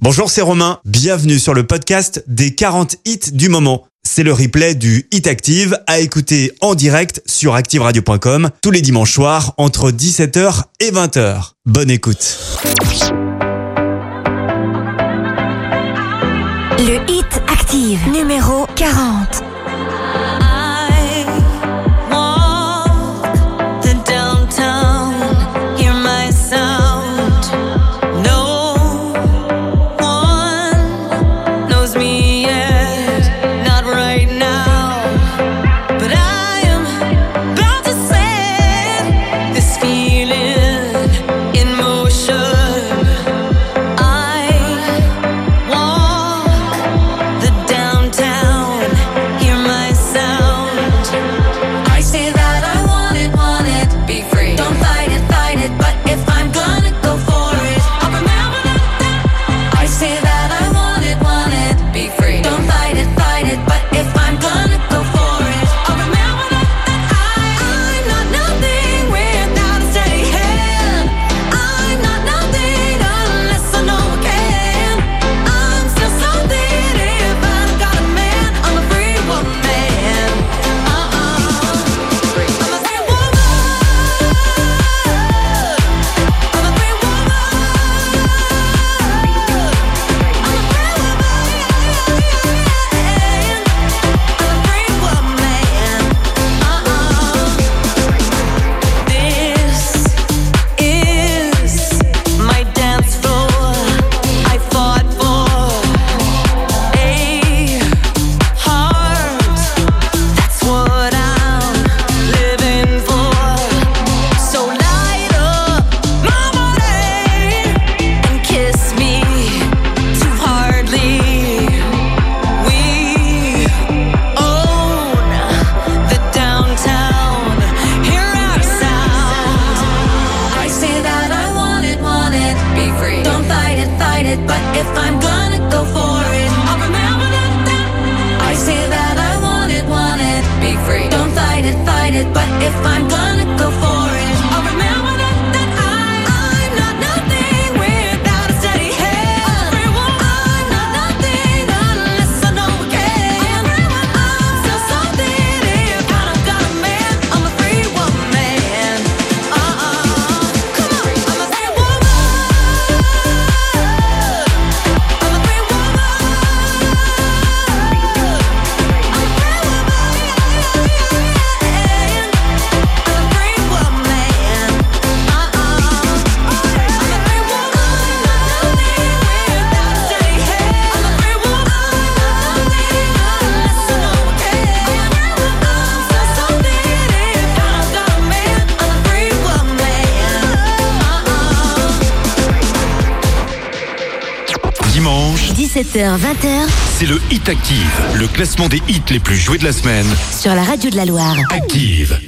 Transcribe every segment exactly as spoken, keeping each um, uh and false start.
Bonjour, c'est Romain. Bienvenue sur le podcast des quarante hits du moment. C'est le replay du Hit Active à écouter en direct sur active radio point com tous les dimanches soirs entre dix-sept heures et vingt heures. Bonne écoute. Le Hit Active numéro quarante. dix-sept heures vingt heures. C'est le Hit Active, le classement des hits les plus joués de la semaine. Sur la radio de la Loire. Active.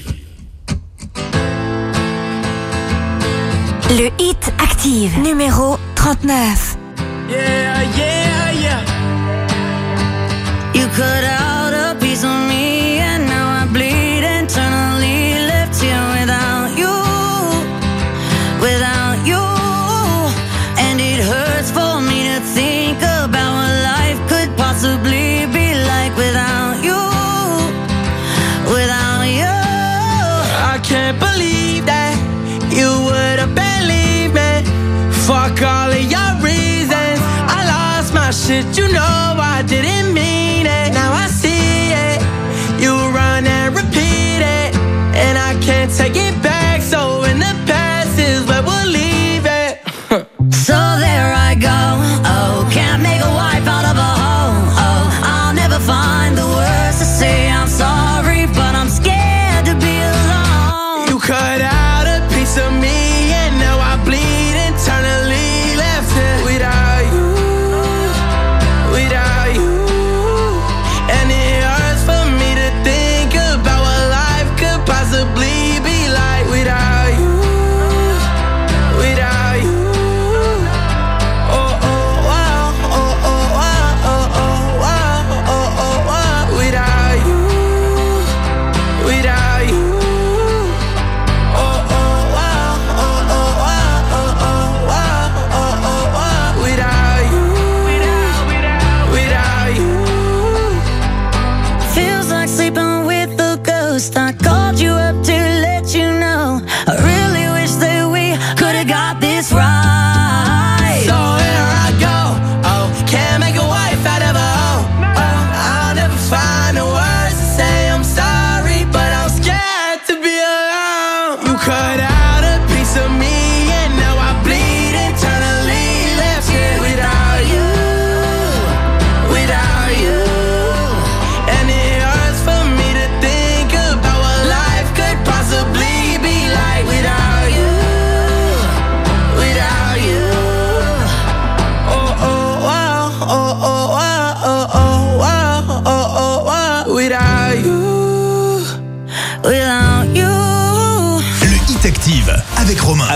Le Hit Active, numéro trente-neuf. Yeah, yeah, yeah. You cut out a piece of me and now I bleed internally. Left here without you, without you. And it hurts for me to think about what life could possibly be like without you, without you. I can't believe that you would have believed me. Fuck all of your reasons. I lost my shit, you know I didn't mean it. Now I see it. You run and repeat it, and I can't take it back. So in the past is where we'll leave it. So there I go. Oh, can't make a wife out of a hoe. Oh, I'll never find the words to say I'm sorry, but I'm scared to be alone. You cut out a piece of me, and now I bleed internally. Left it without you, without you. And it hurts for me to think about what life could possibly be like without you.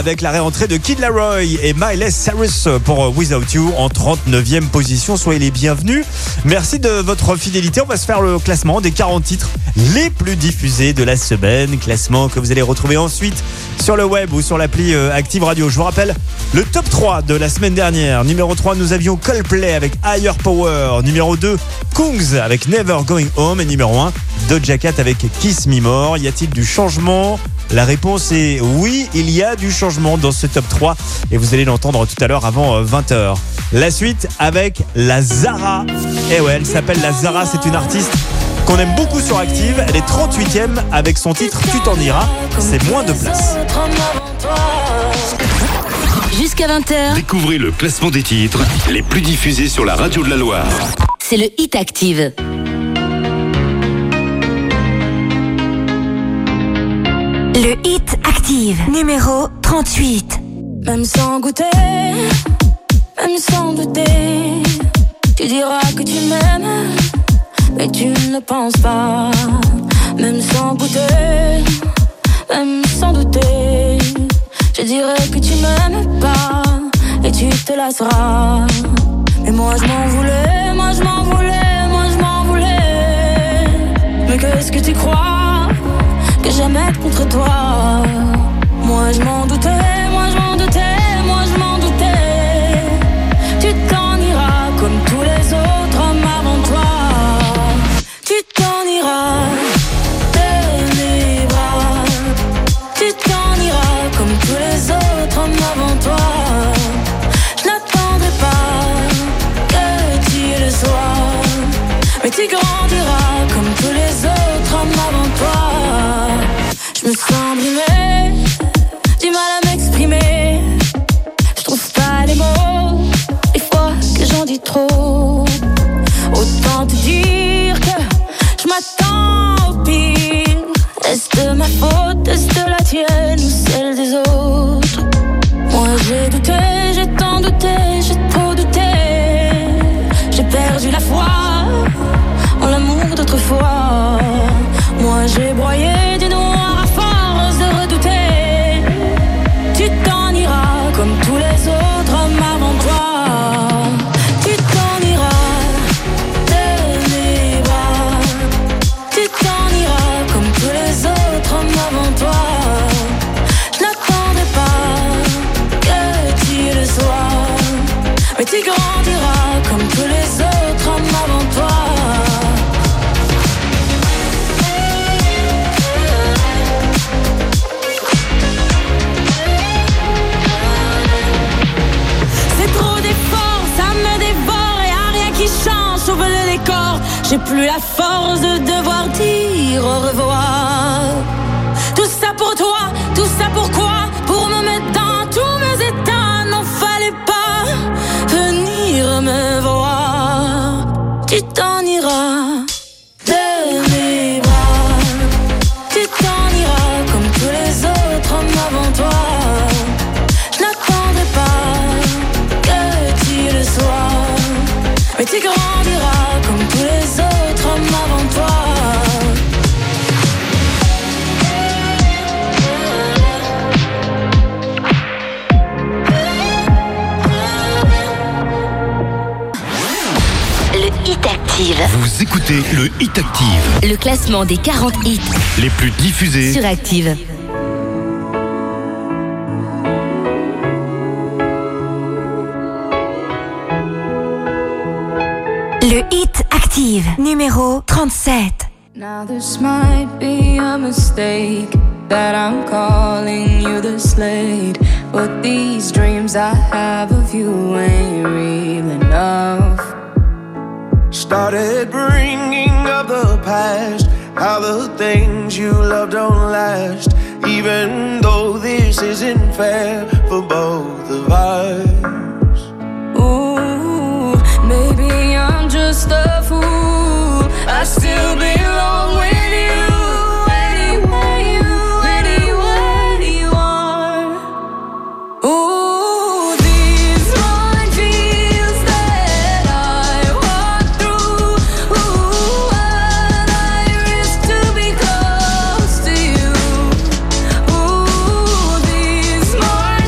avec la réentrée de Kid Laroi et Miley Cyrus pour Without You en trente-neuvième position. Soyez les bienvenus. Merci de votre fidélité. On va se faire le classement des quarante titres les plus diffusés de la semaine. Classement que vous allez retrouver ensuite sur le web ou sur l'appli Active Radio. Je vous rappelle le top trois de la semaine dernière. Numéro trois, nous avions Coldplay avec Higher Power. Numéro deux, Kungs avec Never Going Home. Et numéro un, Doja Cat avec Kiss Me More. Y a-t-il du changement ? La réponse est oui, il y a du changement dans ce top trois et vous allez l'entendre tout à l'heure avant vingt heures. La suite avec la Zara. Et ouais, elle s'appelle la Zara, c'est une artiste qu'on aime beaucoup sur Active. Elle est trente-huitième avec son titre Tu t'en iras, c'est moins de place. Jusqu'à vingt heures. Découvrez le classement des titres les plus diffusés sur la radio de la Loire. C'est le Hit Active. Le Hit Active, numéro trente-huit. Même sans goûter, même sans douter, tu diras que tu m'aimes, mais tu ne le penses pas. Même sans goûter, même sans douter, je dirais que tu m'aimes pas, et tu te lasseras. Mais moi je m'en voulais, moi je m'en voulais, moi je m'en voulais. Mais qu'est-ce que tu crois que j'aime être contre toi? Moi je m'en doutais, moi je m'en doutais, moi je m'en doutais. Tu t'en iras comme tous les autres hommes avant toi. Tu t'en iras de mes bras. Tu t'en iras comme tous les autres hommes avant toi. Je n'attendrai pas que tu le sois, mais tu grandiras comme tous les autres hommes avant toi. Je me sens brimée, du mal à m'exprimer. Je trouve pas les mots, des fois que j'en dis trop. Autant te dire que je m'attends au pire. Est-ce de ma faute, est-ce de la tienne ou celle des autres? Moi j'ai douté, j'ai tant douté, j'ai trop douté. J'ai perdu la foi en l'amour d'autrefois. Moi j'ai broyé du noir à force de redouter. Tu t'en iras comme tous les autres hommes avant toi. Tu t'en iras de mes bras. Tu t'en iras comme tous les autres hommes avant toi. Je n'attendrai pas que tu le sois, mais tu grandiras comme tous les autres hommes avant toi. Change au feu de décor, j'ai plus la force de devoir dire au revoir. Tout ça pour toi, tout ça pourquoi? Pour me mettre dans tous mes états, n'en fallait pas venir me voir. Tu t'en iras de mes bras. Tu t'en iras comme tous les autres hommes avant toi. Je n'attendrai pas que tu le sois, mais tu grandiras comme tous les autres hommes avant toi. Le Hit Active. Vous écoutez le Hit Active. Le classement des quarante hits les plus diffusés sur Active. Le Hit Active, numéro trente-sept. Now this might be a mistake that I'm calling you the Slade, but these dreams I have of you ain't real enough. Started bringing up the past, how the things you love don't last, even though this isn't fair for both of us. Ooh, maybe I'm just a fool, I still belong with you. Anywhere you, anywhere you are. Ooh, these minefields that I walk through. Ooh, what I risk to be close to you. Ooh, these minefields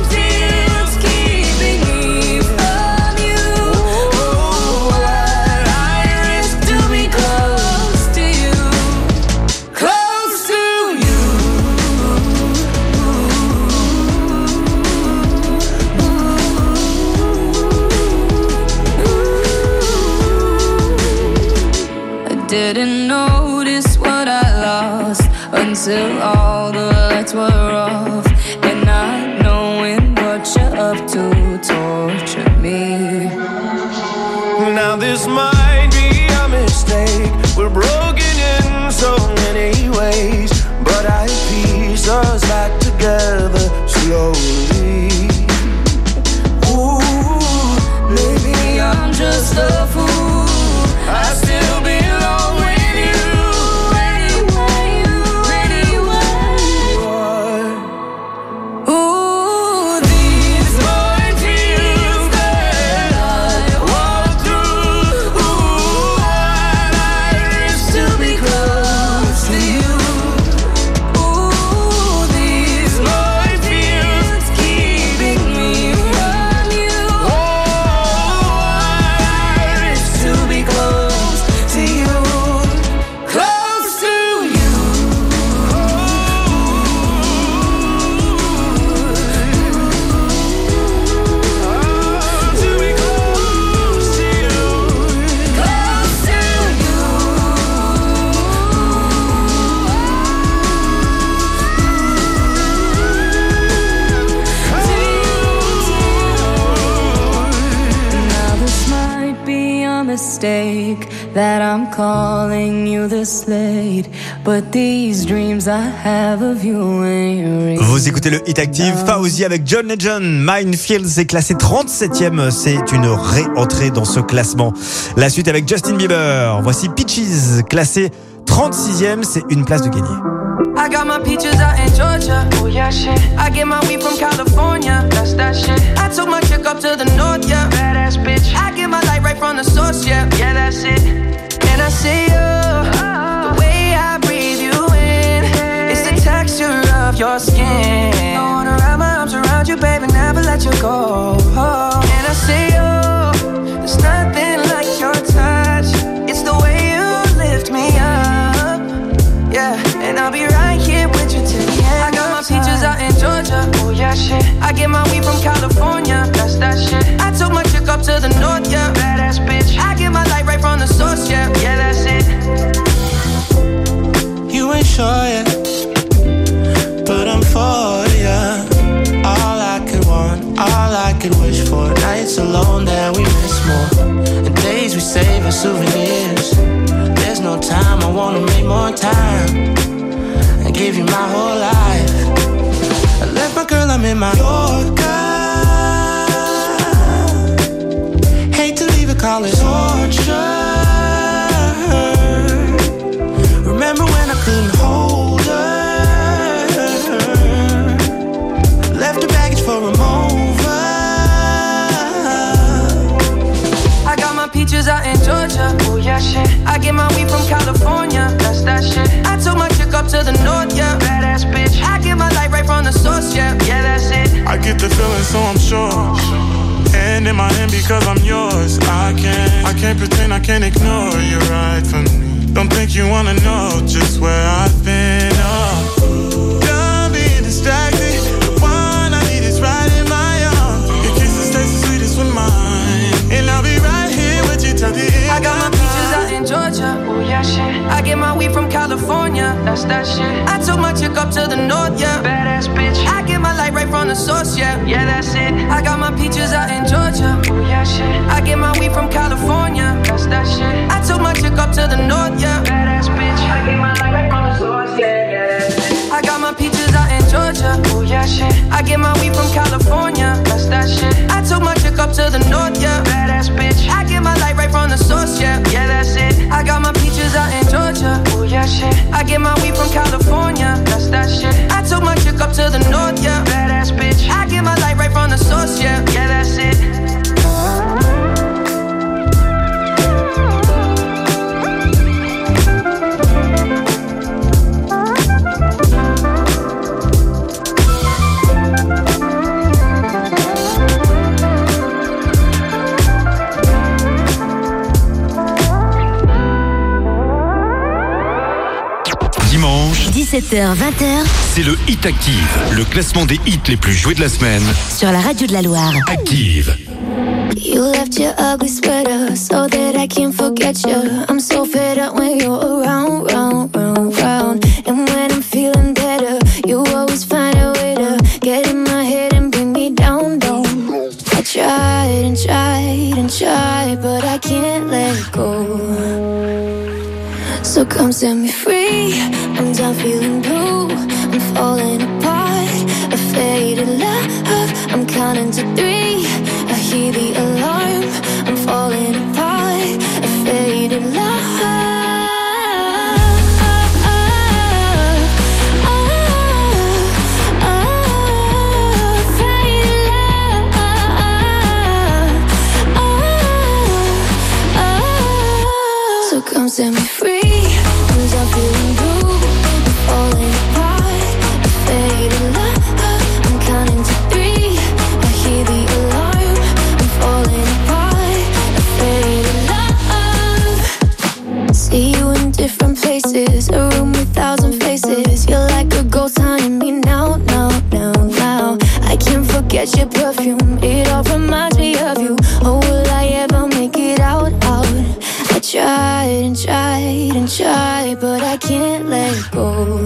didn't notice what I lost until all the lights were off, and not knowing what you're up to torture me. Now this might be a mistake. We're broken in so many ways, but I piece us back together slowly. Ooh, maybe I'm just a fool. I still belong with you. Anyway, anyway. Ooh, these minefields that I walk through. Ooh, I risk to be close to you. Ooh, these minefields keeping me from you. Oh, I risk to be close to you, close to you. To be close to you. Close to you. Now this might be a mistake that I'm calling you this late, but these dreams I have of you ain't real. Vous écoutez le Hit Active, Fauzi avec John Legend. Minefields est classé trente-septième, c'est une réentrée dans ce classement. La suite avec Justin Bieber. Voici Peaches, classé trente-sixième, c'est une place de gagné. I got my peaches out in Georgia. Oh yeah, shit. I get my weed from California. That's that shit. I took my chick up to the north, yeah. Badass bitch. I get my light right from the source, yeah. Yeah, that's it. And I see you. Oh. The way I breathe you in. It's the texture of your skin. I wanna wrap my arms around you, baby, never let you go. Oh. And I see you. There's nothing like your touch. It's the way you lift me up. Yeah, and I'll be right here with you till the end. I got my peaches out in Georgia. Oh yeah, shit. I get my weed from California. That's that shit. I took my chick up to the north, yeah. Badass bitch. I get my light right from the source, yeah. Yeah, that's it. You ain't sure yet, but I'm for ya. All I could want, all I could wish for. Nights alone that we miss more, and days we save as souvenirs. There's no time, I wanna make more time and give you my whole life. I left my girl, I'm in my Yorker. Hate to leave it, call it torture. Remember when I couldn't hold her? Left her baggage for a mover. I got my peaches out in Georgia. Oh yeah, shit. I get my weed from California. That's that shit. I took my chick up to the north, yeah. Badass bitch. I get my light right from the source, yeah. Yeah, that's it. I get the feeling, so I'm sure. Hand in my hand because I'm yours. I can't, I can't pretend, I can't ignore you right from me. Don't think you wanna know just where I've been. Oh, done being distracted. The one I need is right in my arms. Your kisses taste the sweetest with mine, and I'll be right here with you till the end. I got my peaches out in Georgia. Oh yeah, shit. I get my weed from California. That's that shit. I took my chick up to the north, yeah. Badass bitch. I get my light right from the source, yeah. Yeah, that's it. I got my peaches out in Georgia. Oh yeah, shit. I get my weed from California. That's that shit. I took my chick up to the north, yeah. Badass bitch. I get my light right from the source, yeah. Yeah, that's it. I got my peaches out in Georgia. Oh yeah, shit. I get my weed from California. That's that shit. I took my chick up to the north, yeah. Badass bitch. I get my light right from the source, yeah. Yeah, that's it. I got my peaches out in Georgia. Oh yeah, shit. I get my weed from California. That's that shit. I took my chick up to the north, yeah. Badass bitch. I get my light right from the source, yeah. Yeah, that's it. dix-sept heures vingt, C'est le Hit Active, le classement des hits les plus joués de la semaine. sur la radio de la Loire. Active. You left your ugly sweater so that I can forget you. I'm so fed up when try, but I can't let go. So come set me free. I'm done feeling blue. I'm falling apart. A faded love. I'm counting to three. I hear the alarm. I'm falling apart. A faded love. Come set me free. I'm done feeling blue. I'm falling apart. A faded love. I'm counting to three. I hear the alarm. I'm falling apart. A faded love. See you in different places. A room with thousand faces. You're like a ghost haunting me now, now, now, now. I can't forget your perfume. It all reminds me of you. Oh, will I ever make it out, out? I tried and tried and tried, but I can't let go.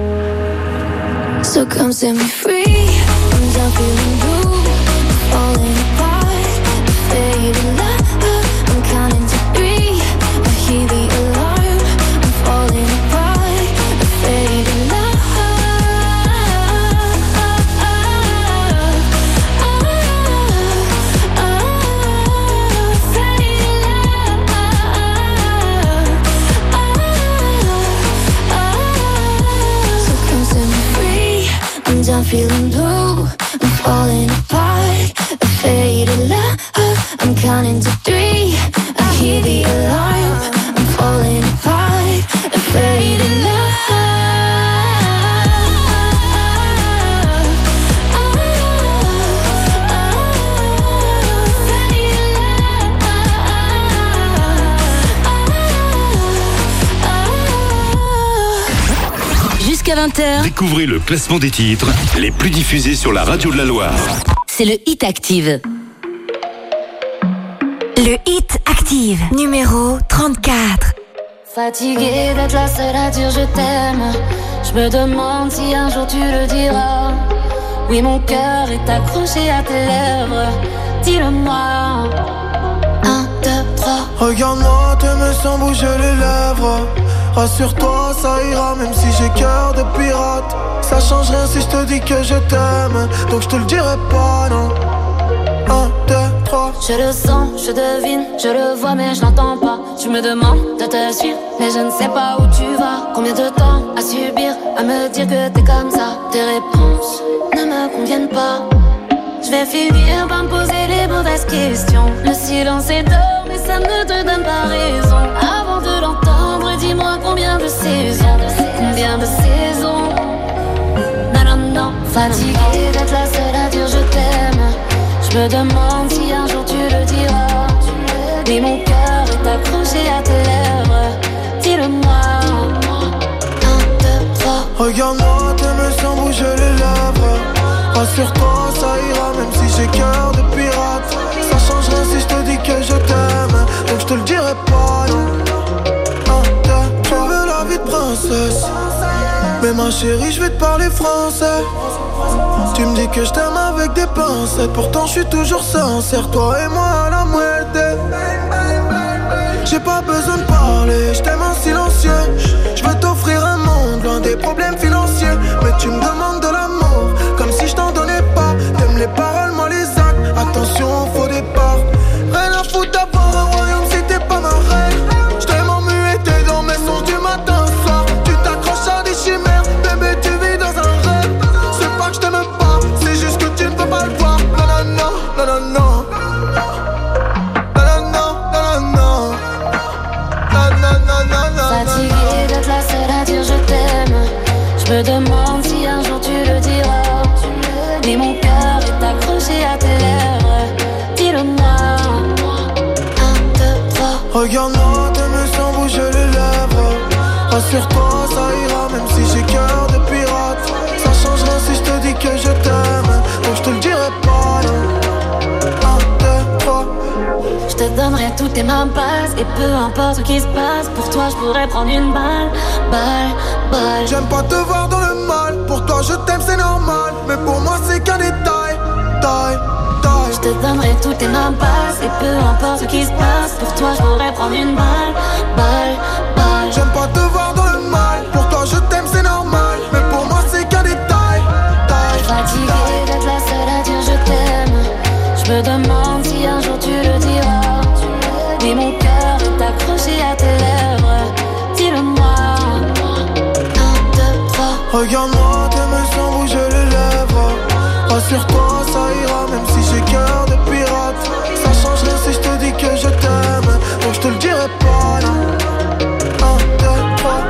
So come set me free. I'm done feeling blue. I'm falling apart. A faded love. I'm counting to three. I hear the alarm. I'm falling apart. A faded love. I'm feeling blue, I'm falling apart. A faded love, I'm counting to three. I hear the alarm, I'm falling apart. A faded love. Jusqu'à vingt heures. Découvrez le classement des titres les plus diffusés sur la radio de la Loire. C'est le Hit Active. Le Hit Active, numéro trente-quatre. Fatiguée d'être la seule à dire je t'aime. Je me demande si un jour tu le diras. Oui, mon cœur est accroché à tes lèvres. Dis-le-moi. Un, deux, trois. Regarde-moi, t'aimes sans bouger les lèvres. Rassure-toi, ça ira même si j'ai cœur de pirate. Ça change rien si je te dis que je t'aime. Donc je te le dirai pas, non. Un, deux, trois. Je le sens, je devine, je le vois mais je l'entends pas. Tu me demandes de te suivre, mais je ne sais pas où tu vas. Combien de temps à subir, à me dire que t'es comme ça. Tes réponses ne me conviennent pas. Je vais finir par me poser les mauvaises questions. Le silence est d'or, mais ça ne te donne pas raison. Avant de l'entendre, dis-moi combien de saisons. Combien de saisons. Non, non, non. Fatiguée d'être la seule à dire je t'aime. Je me demande si un jour tu le diras. Mais mon cœur est accroché à tes lèvres. Dis-le-moi. Un, deux, trois. Regarde-moi, t'aimes sans bouger les lèvres. Rassure-toi, ça ira même si j'ai cœur de pirate. Ça change rien si je te dis que je t'aime. Donc je te le dirai pas, non. Un, deux, trois. Tu veux la vie de princesse, mais ma chérie, je vais te parler français. Tu me dis que je t'aime avec des pincettes. Pourtant je suis toujours sincère, toi et moi à la muerte. J'ai pas besoin de parler, je t'aime en silencieux. Je veux t'offrir un monde loin des problèmes financiers. Mais tu me demandes de l'amour, comme si je t'en donnais pas. T'aimes les paroles, moi les actes. Attention au faux départ. Rien à foutre d'avoir un royaume si t'es pas ma reine. Je t'aime en muet, t'es dans mes sons du matin au soir. Tu t'accroches à des chimères, bébé tu vis dans un rêve. C'est pas que je t'aime pas, c'est juste que tu ne peux pas le voir. Non, non, non, non, non, non. Fatiguée d'être la seule à dire je t'aime. Je me demande si un jour tu le diras. Mais mon cœur est accroché à tes lèvres. Dis-le-moi. Un, deux, trois. Regarde-moi, t'aimes sans bouger les lèvres. Rassure-toi, ça ira même si j'ai cœur de pirate. Ça change rien si je te dis que je t'aime. Donc je te le dirai pas, non. Un, deux, trois. Je te donnerai toutes tes mains basses. Et peu importe ce qui se passe, pour toi je pourrais prendre une balle. Balle, balle. J'aime pas te voir dans le mal. Pour toi je t'aime c'est normal. Mais pour moi c'est qu'un détail. Taille. taille. Je te donnerai toutes tes mains passes. Et peu importe ce qui se passe, pour toi je pourrais prendre une balle. Balle, balle. J'aime pas te voir dans le mal. Pour toi je t'aime c'est normal. Mais pour moi c'est qu'un détail. Taille, Fatiguée taille. d'être la seule à dire je t'aime. Je me demande si un jour tu le diras. Mais mon cœur est accroché à tes lèvres. Dis-le-moi. Un, deux, trois. Regarde-moi, tes mains sans bouger les lèvres. Rassure-toi, ça ira, même si j'ai cœur de pirate. Ça change rien si je te dis que je t'aime. Donc je te le dirai pas là. Un, deux, trois.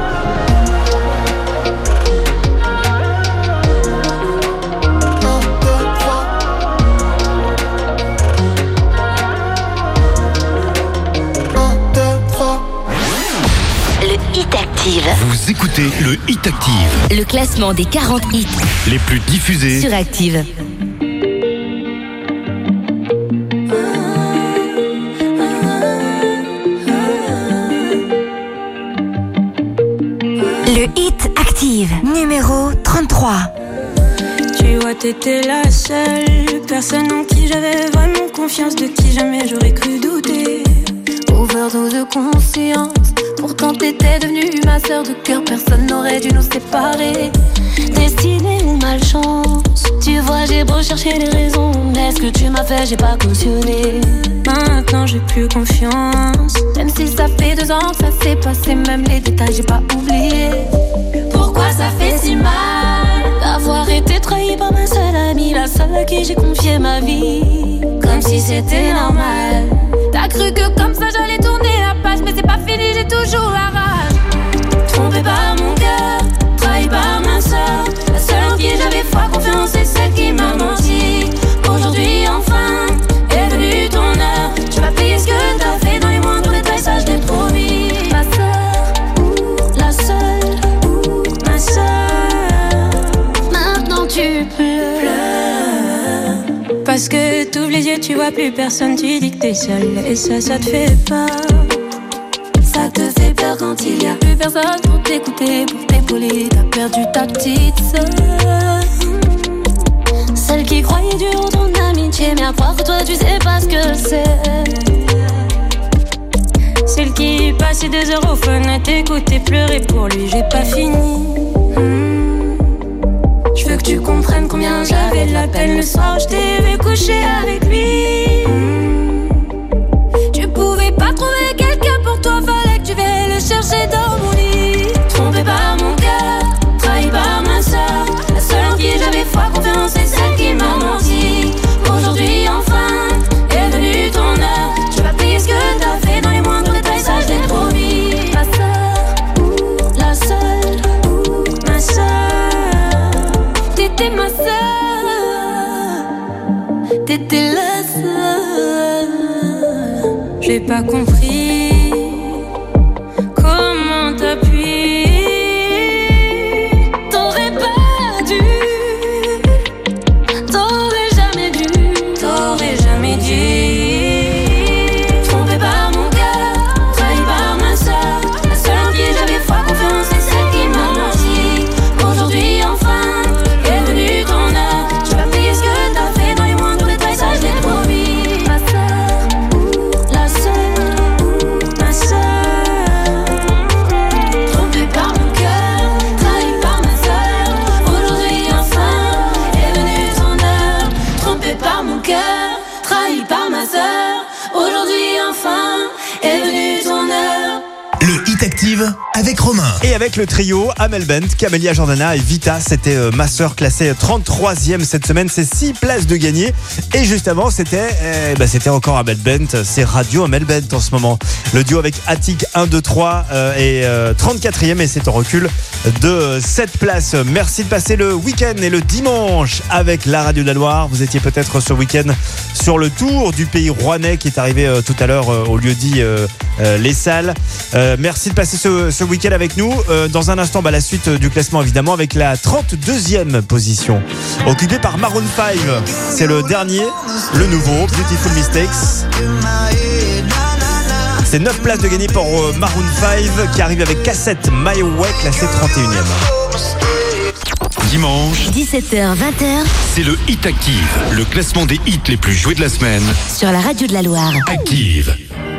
Un, deux, trois. Un, deux, trois. Le Hit Active. Vous écoutez le Hit Active. Le classement des quarante hits Les plus diffusés. sur Active. Le Hit Active, numéro trente-trois. Tu vois, t'étais la seule personne en qui j'avais vraiment confiance, de qui jamais j'aurais cru douter. Overdose de conscience. Pourtant t'étais devenue ma sœur de cœur. Personne n'aurait dû nous séparer. Destinée ou malchance. Tu vois, j'ai beau chercher les raisons, mais ce que tu m'as fait, j'ai pas cautionné. Maintenant j'ai plus confiance. Même si ça fait deux ans que ça s'est passé, même les détails j'ai pas oublié. Pourquoi ça fait si mal d'avoir été trahi par ma seule amie, la seule à qui j'ai confié ma vie, comme si c'était normal. T'as cru que comme ça j'allais tourner la page, mais c'est pas fini, j'ai toujours la rage. Trompé par mon cœur, trahi par ma soeur, la seule en qui j'avais foi, confiance, c'est celle qui m'a menti. Aujourd'hui enfin est venue ton heure. Tu vas payer ce que t'as fait dans les moindres détails, ça je l'ai promis. Ma soeur, la seule, ma soeur. Maintenant tu pleures, parce que t'ouvres les yeux, tu vois plus personne, tu dis que t'es seule. Et ça, ça te fait peur. ça te fait peur quand il y a plus personne pour t'écouter, pour t'épauler. T'as perdu ta petite sœur, celle qui croyait dur en ton amitié, mais à croire que toi tu sais pas ce que c'est. Celle qui passait des heures au phone à t'écouter pleurer pour lui, j'ai pas fini. Mmh. Je veux que tu comprennes combien j'avais de la peine le soir où je t'ai vu coucher avec lui. Mmh. Tu pouvais pas trouver quelqu'un pour toi, fallait que tu viennes le chercher dans mon lit. Trompé par mon cœur, trahi par ma soeur, la seule en qui j'avais foi, confiance, c'est celle qui m'a menti. Aujourd'hui enfin est venue ton heure. Tu vas payer ce que t'as fait dans les moindres détails, ça je l'ai promis. Ma soeur, la seule, ma soeur. T'étais ma soeur, t'étais la seule. J'ai pas compris comment t'as pu. T'aurais pas dû, t'aurais jamais dû, T'aurais jamais dû. trompé par mon cœur, trahi par ma soeur, la seule en qui j'avais foi, confiance, c'est celle qui m'a menti. Aujourd'hui enfin est venue ton heure. Tu vas payer ce que t'as fait dans les moindres détails, ça je l'ai promis. Ma soeur, la seule, Ma soeur, trompé par mon cœur, trahi par ma soeur. Aujourd'hui enfin est venue ton heure. Trompé par mon cœur, trahi par ma soeur. Aujourd'hui enfin est venue ton heure. Le Hit Active avec Romain. Et avec le trio Amel Bent, Camélia Jordana et Vita, c'était euh, ma sœur classée trente-troisième cette semaine, c'est six places de gagner. Et juste avant, c'était euh, bah, c'était encore Amel Bent, c'est Radio Amel Bent en ce moment. Le duo avec Attic un, deux, trois euh, et euh, trente-quatrième, et c'est en recul de euh, sept places. Merci de passer le week-end et le dimanche avec la radio de la Loire. Vous étiez peut-être ce week-end sur le tour du pays rouennais qui est arrivé euh, tout à l'heure euh, au lieu dit euh, euh, Les Salles. Euh, merci de passer ce, ce week-end avec nous. Euh, dans un instant, bah, la suite du classement évidemment avec la trente-deuxième position occupée par Maroon cinq. C'est le dernier, le nouveau, Beautiful Mistakes. C'est neuf places de gagné pour euh, Maroon cinq qui arrive avec Cassette My Way classé trente et unième. dimanche, dix-sept heures vingt, c'est le Hit Active, le classement des hits les plus joués de la semaine. sur la radio de la Loire. Active.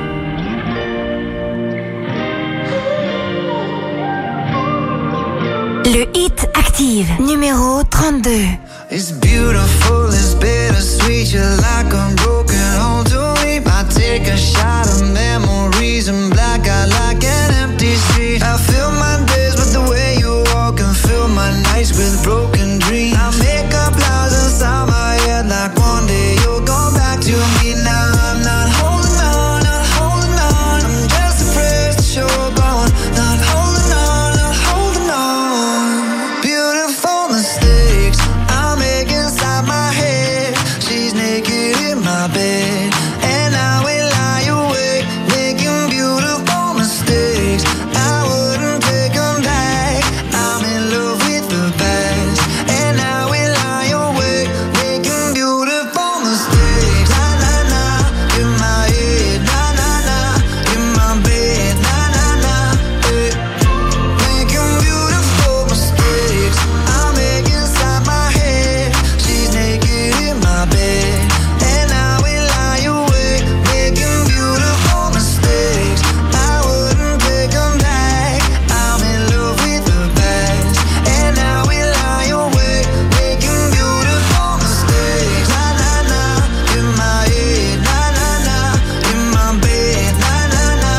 Le Hit Active, numéro trente-deux. It's beautiful, it's bittersweet. You're like a broken home to me. I take a shot of memories and black out like an empty street. I fill my days with the way you walk and fill my nights with broken dreams. I make up lies inside my head like one day you'll go back to me. Now I'm not holding on, not holding on. I'm just afraid that you're gone. Not holding on, not holding on. Beautiful mistakes I make inside my head. She's naked in my bed, and I will lie awake, making beautiful mistakes. I wouldn't take them back. I'm in love with the past, and I will lie awake, making beautiful mistakes. Na na na, in my head. Na na na, in my bed. Na na na, eh. Making beautiful mistakes I make inside my head. She's naked in my bed, and I will lie awake, making beautiful mistakes. I wouldn't take them back. I'm in love with the past, and I will lie awake, making beautiful mistakes. Na na na, in my head. Na na na, in my bed. Na na na,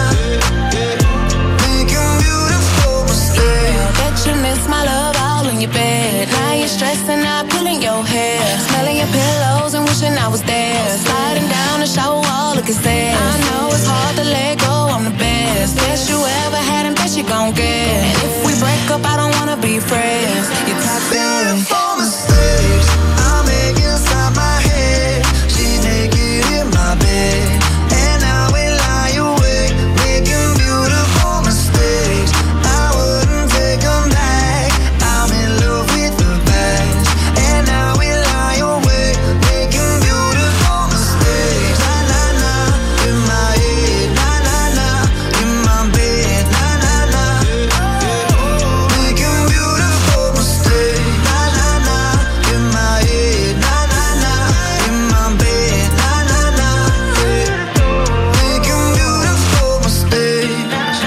making beautiful mistakes. Bet you miss my love all in your bed. Now you're stressing out, pulling your hair, smelling your pillows and wishing I was there. Sliding down the shower wall, looking sad. I know it's hard to let go, I'm the best. Best you ever had and best you gon' get. And if we break up, I don't wanna be friends. You're toxic. Beautiful mistakes I make inside my head. She's naked in my bed, and I will lie awake, making beautiful mistakes. I wouldn't take them back. I'm in love with the past, and I will lie awake, making beautiful mistakes. Na na na, in my head. Na na na, in my bed. Na na na, making beautiful mistakes. Na na na, in my head. Na na na, in my bed. Na na na, making beautiful mistakes.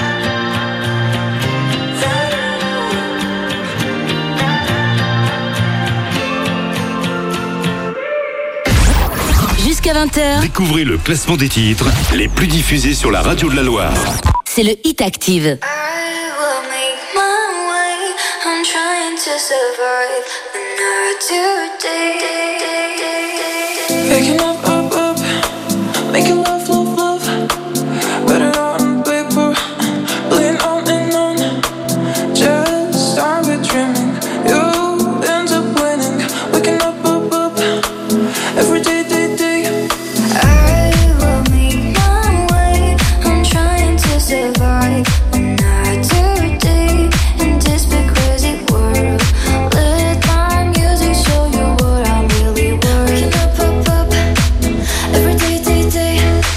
Jusqu'à vingt heures, Découvrez le classement des titres les plus diffusés sur la radio de la Loire. c'est le Hit Active. I will make my way. I'm trying to survive another day. Picking up, up, up, making love, love, love. Better on paper, bleeding on and on. Just started dreaming, you end up winning. Waking up, up, up, every day, day, day. I will make my way. I'm trying to survive another day in this big crazy world. Let my music show you what I'm really worth. Waking up, up, up, every day, day, day.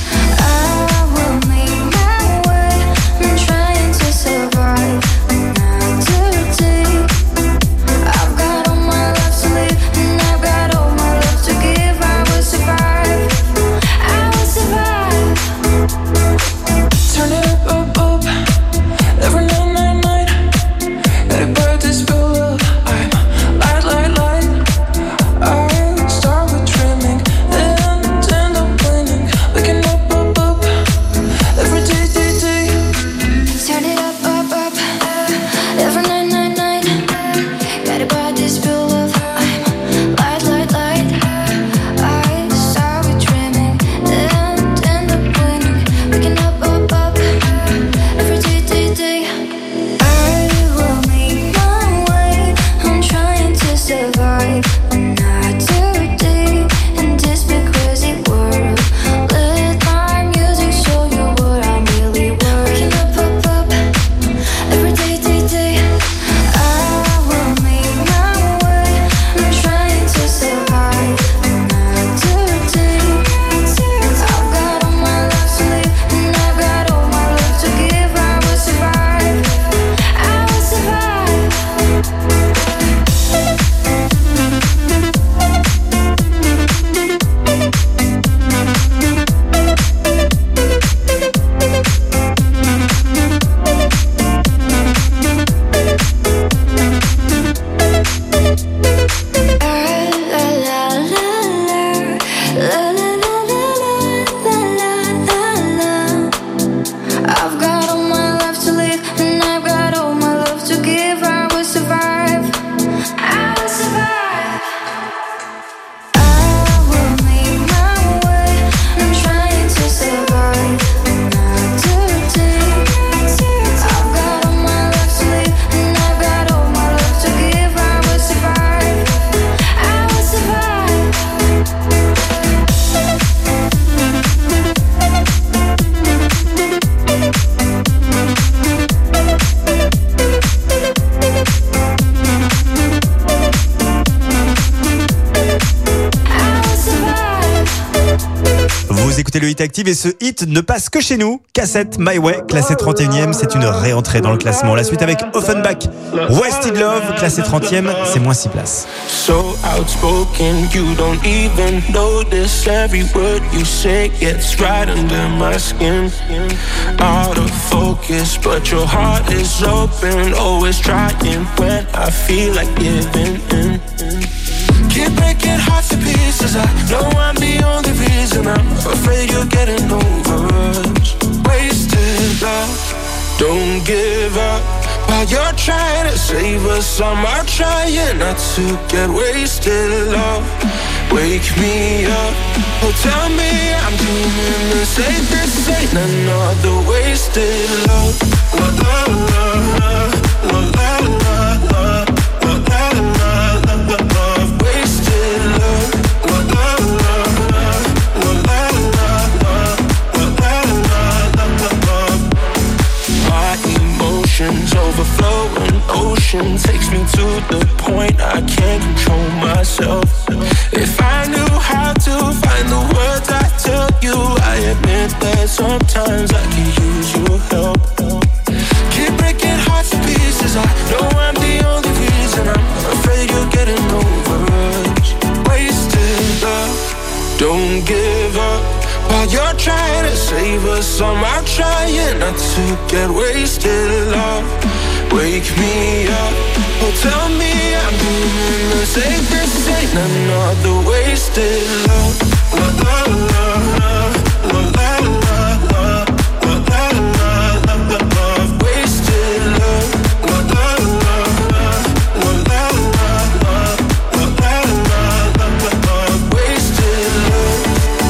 Hit Active et ce hit ne passe que chez nous. Cassette My Way, classé trente et unième, c'est une réentrée dans le classement. La suite avec Offenbach, Wasted Love, classé trentième, c'est moins six places. So outspoken, you don't even notice every word you say gets right under my skin. Out of focus, but your heart is open, always trying when I feel like giving in. Keep breaking hearts to pieces. I know I'm the only reason. I'm afraid you're getting over us. Wasted love, don't give up. While you're trying to save us, I'm out trying not to get wasted love. Wake me up, oh tell me I'm doing the same. This ain't another wasted love. La la la la, la la la la, la la la la la. Wasted love. La la la la, la la la la, la la la la. My emotions overflowing, ocean takes me to the point I can't control myself. If I knew how to find the words I tell you, I admit that sometimes I can use your help. Keep breaking hearts to pieces. I know I'm the only reason. I'm afraid you're getting over us. Wasted love, don't give up. While you're trying to save us, I'm out trying not to get wasted love. Wake me up, oh tell me I'm doing the same. This ain't another wasted love. La la la la, la la la la, la la la la la. Wasted love. La la la la, la la la la, la la la la la. Wasted love.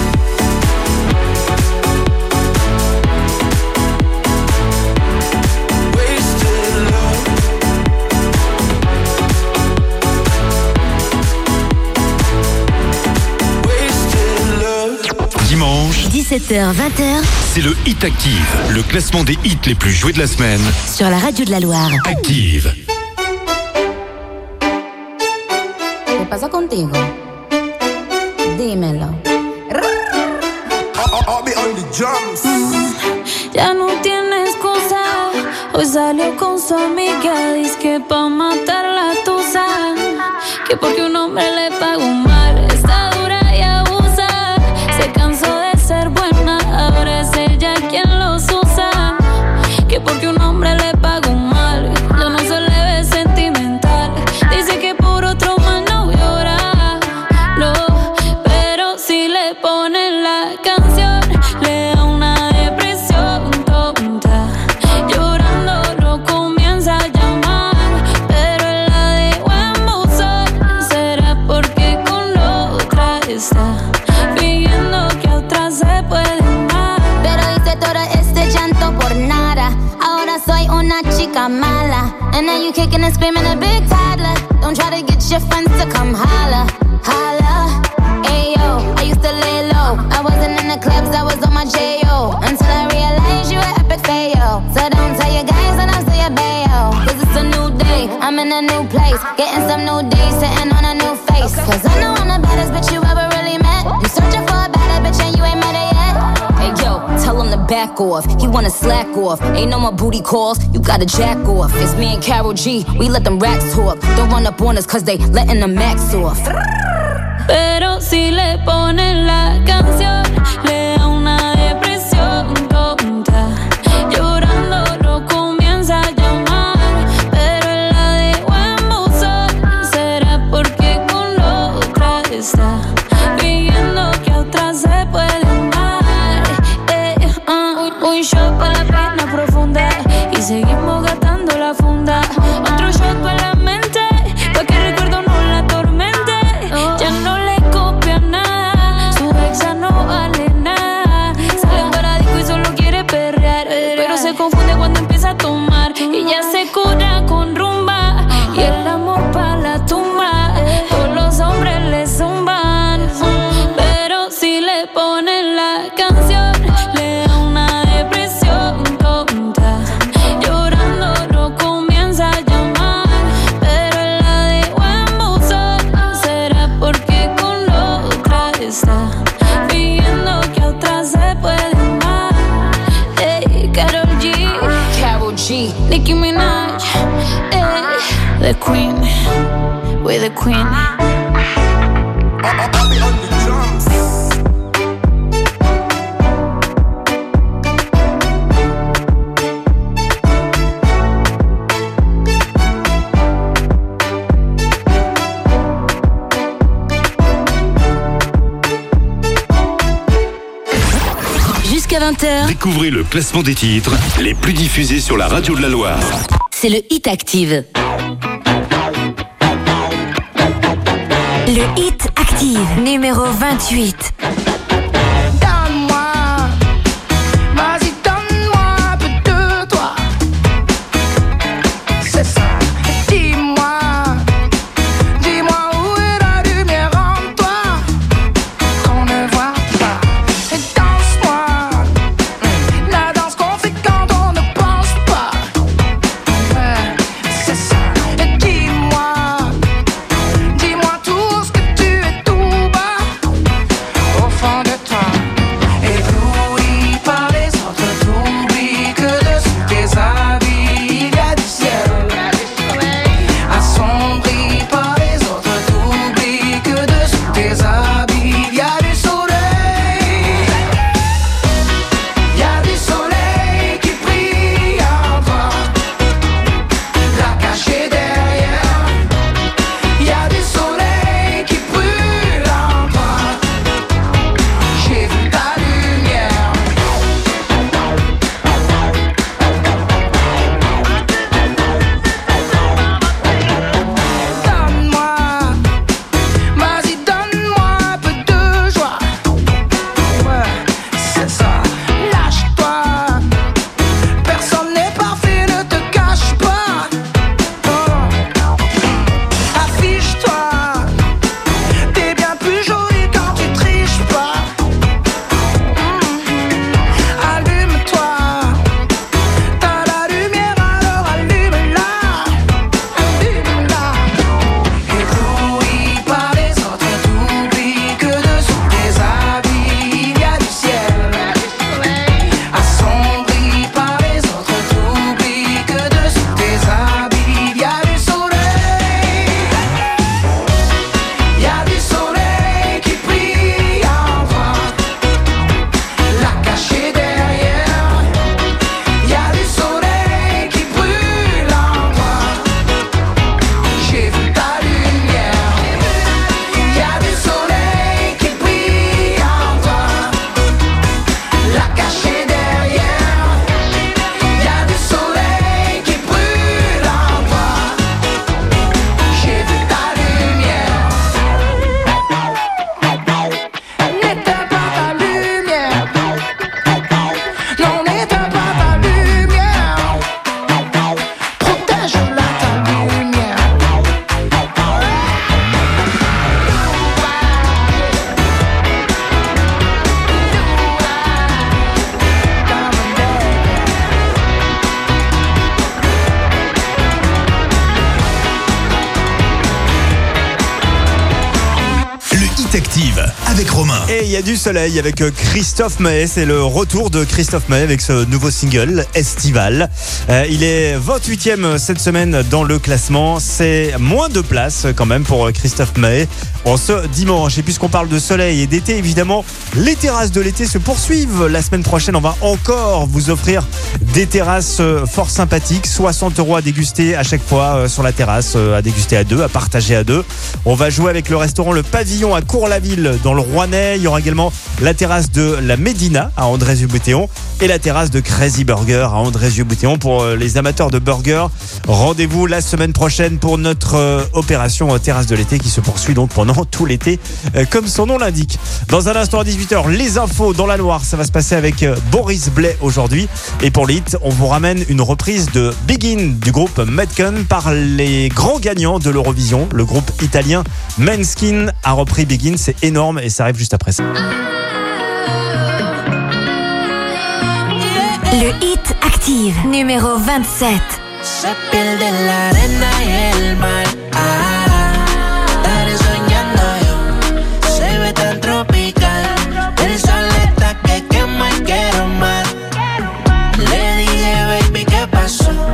Dimanche, dix-sept heures vingt, c'est le Hit Active, le classement des hits les plus joués de la semaine. sur la radio de la Loire. Active. ¿Qué pasa contigo? Dímelo. Ya no tiene excusa. Hoy salió con su amiga. Dice que pa' matar la tusa. Que porque un hombre le pagó mal. Está dura y abusa. Se cansó de ser buena. Ahora es ella quien los usa. Que porque un hombre le pagó mal. Ya no se le ve sentimental. Dice que por otro más no llora. No, pero si le ponen la canción, le da una depresión tonta. Llorando lo comienza a llamar, pero él la dejó en buzón. ¿Será porque con la otra está fingiendo que a otra se puede amar? Pero hice todo este llanto por nada. Ahora soy una chica mala. And now you kicking and screaming a big toddler. Don't try to get your friends to come holla, holla. Ayo, I used to lay low. I wasn't in the clubs, I was on my J O. Until I realized you were epic fail. So don't tell your guys and I'll say a bayo. Cause it's a new day, I'm in a new place. Getting some new days, sitting on a new face. Cause I know I'm the baddest bitch you ever really met. You searching for a better bitch and you ain't met her yet. Hey yo, tell him to back off. He wanna slack off. Ain't no more booty calls, you gotta jack off. It's me and Karol G, we let them racks talk. Don't run up on us cause they letting the max off. Pero si le ponen la canción, le da una depresión tonta. Llorando lo comienza a llamar, pero él la dejó en buzón. ¿Será porque con la otra está fingiendo que a otra se puede amar? Eh, uh, un shot para la pena profunda y seguimos gastando la funda. Otro shot para la mente, pa' que el recuerdo no la atormente. Ya no le copia nada, su exa no vale nada. Sale en paradico y solo quiere perrear, pero se confunde cuando empieza a tomar. Y ya se cura con rumba y el amor pa' la tumba. Todos los hombres le zumban, pero si le ponen la canción, le da una depresión tonta. Llorando lo comienza a llamar, pero él la dejó en buzón. ¿Será porque con la otra está fingiendo que a otra se Gucci, Nicki Minaj, eh, the queen, we're the queen. Jusqu'à vingt heures, Découvrez le classement des titres les plus diffusés sur la radio de la Loire. c'est le Hit Active. Le Hit Active, numéro vingt-huit. Donne-moi, vas-y donne-moi un peu de toi. C'est ça, dis-moi, dis-moi où est la lumière en toi qu'on ne voit pas. Et danse-moi, la danse qu'on fait quand on ne pense pas. Ouais, c'est ça, et dis-moi, dis-moi tout ce que tu es tout bas au fond de toi. Ébloui par les autres, t'oublies que dessous tes habits il y a du ciel. Assombri par les autres, t'oublies que dessous tes habits il y a du soleil. Il y a du soleil qui brille en toi, la cacher derrière. Il y a du soleil qui brûle en toi, j'ai vu ta lumière. Donne-moi, vas-y donne-moi un peu de joie. Ouais, c'est ça, lâche-toi. Personne n'est parfait, ne te cache pas. Oh. Affiche-toi, t'es bien plus jolie quand tu triches pas. Mm. Allume-toi, t'as la lumière alors allume-la, allume-la. Ébloui par les autres, t'oublies que dessous tes habits il y a du ciel. Assombri par les autres, t'oublies que dessous tes habits il y a du soleil. Il y a du soleil qui brille en toi, la cacher derrière. Il y a du soleil qui brûle en toi, j'ai vu ta lumière. Il y a du soleil qui brille en toi, la cacher derrière. Il y a du soleil qui brûle en toi, j'ai vu ta lumière. N'éteins pas ta lumière, non n'éteins pas ta lumière, protège-la ta lumière. Le Hit Active avec Romain. Et il y a du soleil avec euh, Christophe Maé. C'est le retour de Christophe Maé avec ce nouveau single, Estival. Euh, il est vingt-huitième cette semaine dans le classement. C'est moins de place quand même pour euh, Christophe Maé en ce dimanche. Et puisqu'on parle de soleil et d'été, évidemment, les terrasses de l'été se poursuivent. La semaine prochaine, on va encore vous offrir des terrasses euh, fort sympathiques. soixante euros à déguster à chaque fois euh, sur la terrasse, euh, à déguster à deux, à partager à deux. On va jouer avec le restaurant Le Pavillon à Cours-la-Ville dans le Rouennais. Il y aura également la terrasse de la Médina à Andrézieux-Boutéon et la terrasse de Crazy Burger à Andrézieux-Boutéon pour euh, les amateurs de burgers. Rendez-vous la semaine prochaine pour notre euh, opération euh, terrasse de l'été qui se poursuit donc pendant tout l'été, euh, comme son nom l'indique. Dans un instant à dix-huit heures, les infos dans la Loire, ça va se passer avec euh, Boris Blais aujourd'hui. Et pour l'hit, on vous ramène une reprise de Begin du groupe Metcon par les grands gagnants de l'Eurovision. Le groupe italien Måneskin a repris Begin, c'est énorme et ça arrive juste après ça. Le Hit Active, numéro vingt-sept. Se pierde en la arena y el mar. Ah, estaré soñando yo. Se ve tan tropical. El sol está que quema y quiero más. Le dije, baby, ¿qué pasó?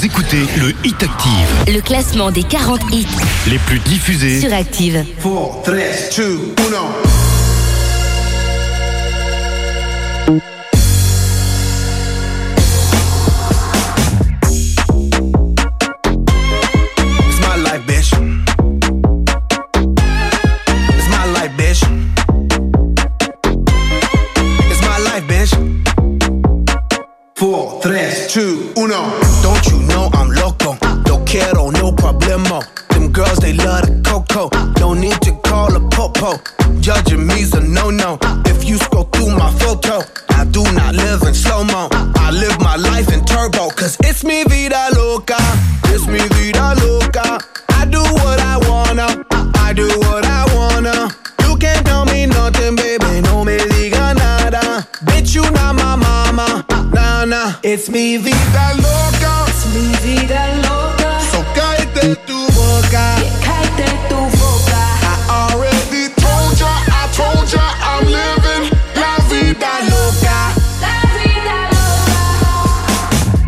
écoutez le Hit Active. Le classement des quarante hits Les plus diffusés sur Active. four, three, two, one. Four, tres, two, uno. Don't you know I'm loco? No quiero, no problemo. Them girls, they love the coco. No need to call a popo. Judging me's a no-no. If you scroll through my photo, I do not live in slow-mo. I live my life in turbo. Cause it's mi vida loca. It's mi vida loca. I do what I wanna. I do what I wanna. You can't tell me nothing, baby. No me diga nada. Bitch, you not my mama. Nah, nah. It's mi vida loca. Es mi vida loca. So cállate tu boca. Yeah, cállate tu boca. I already told ya, I told ya, I'm living la vida loca. La vida loca.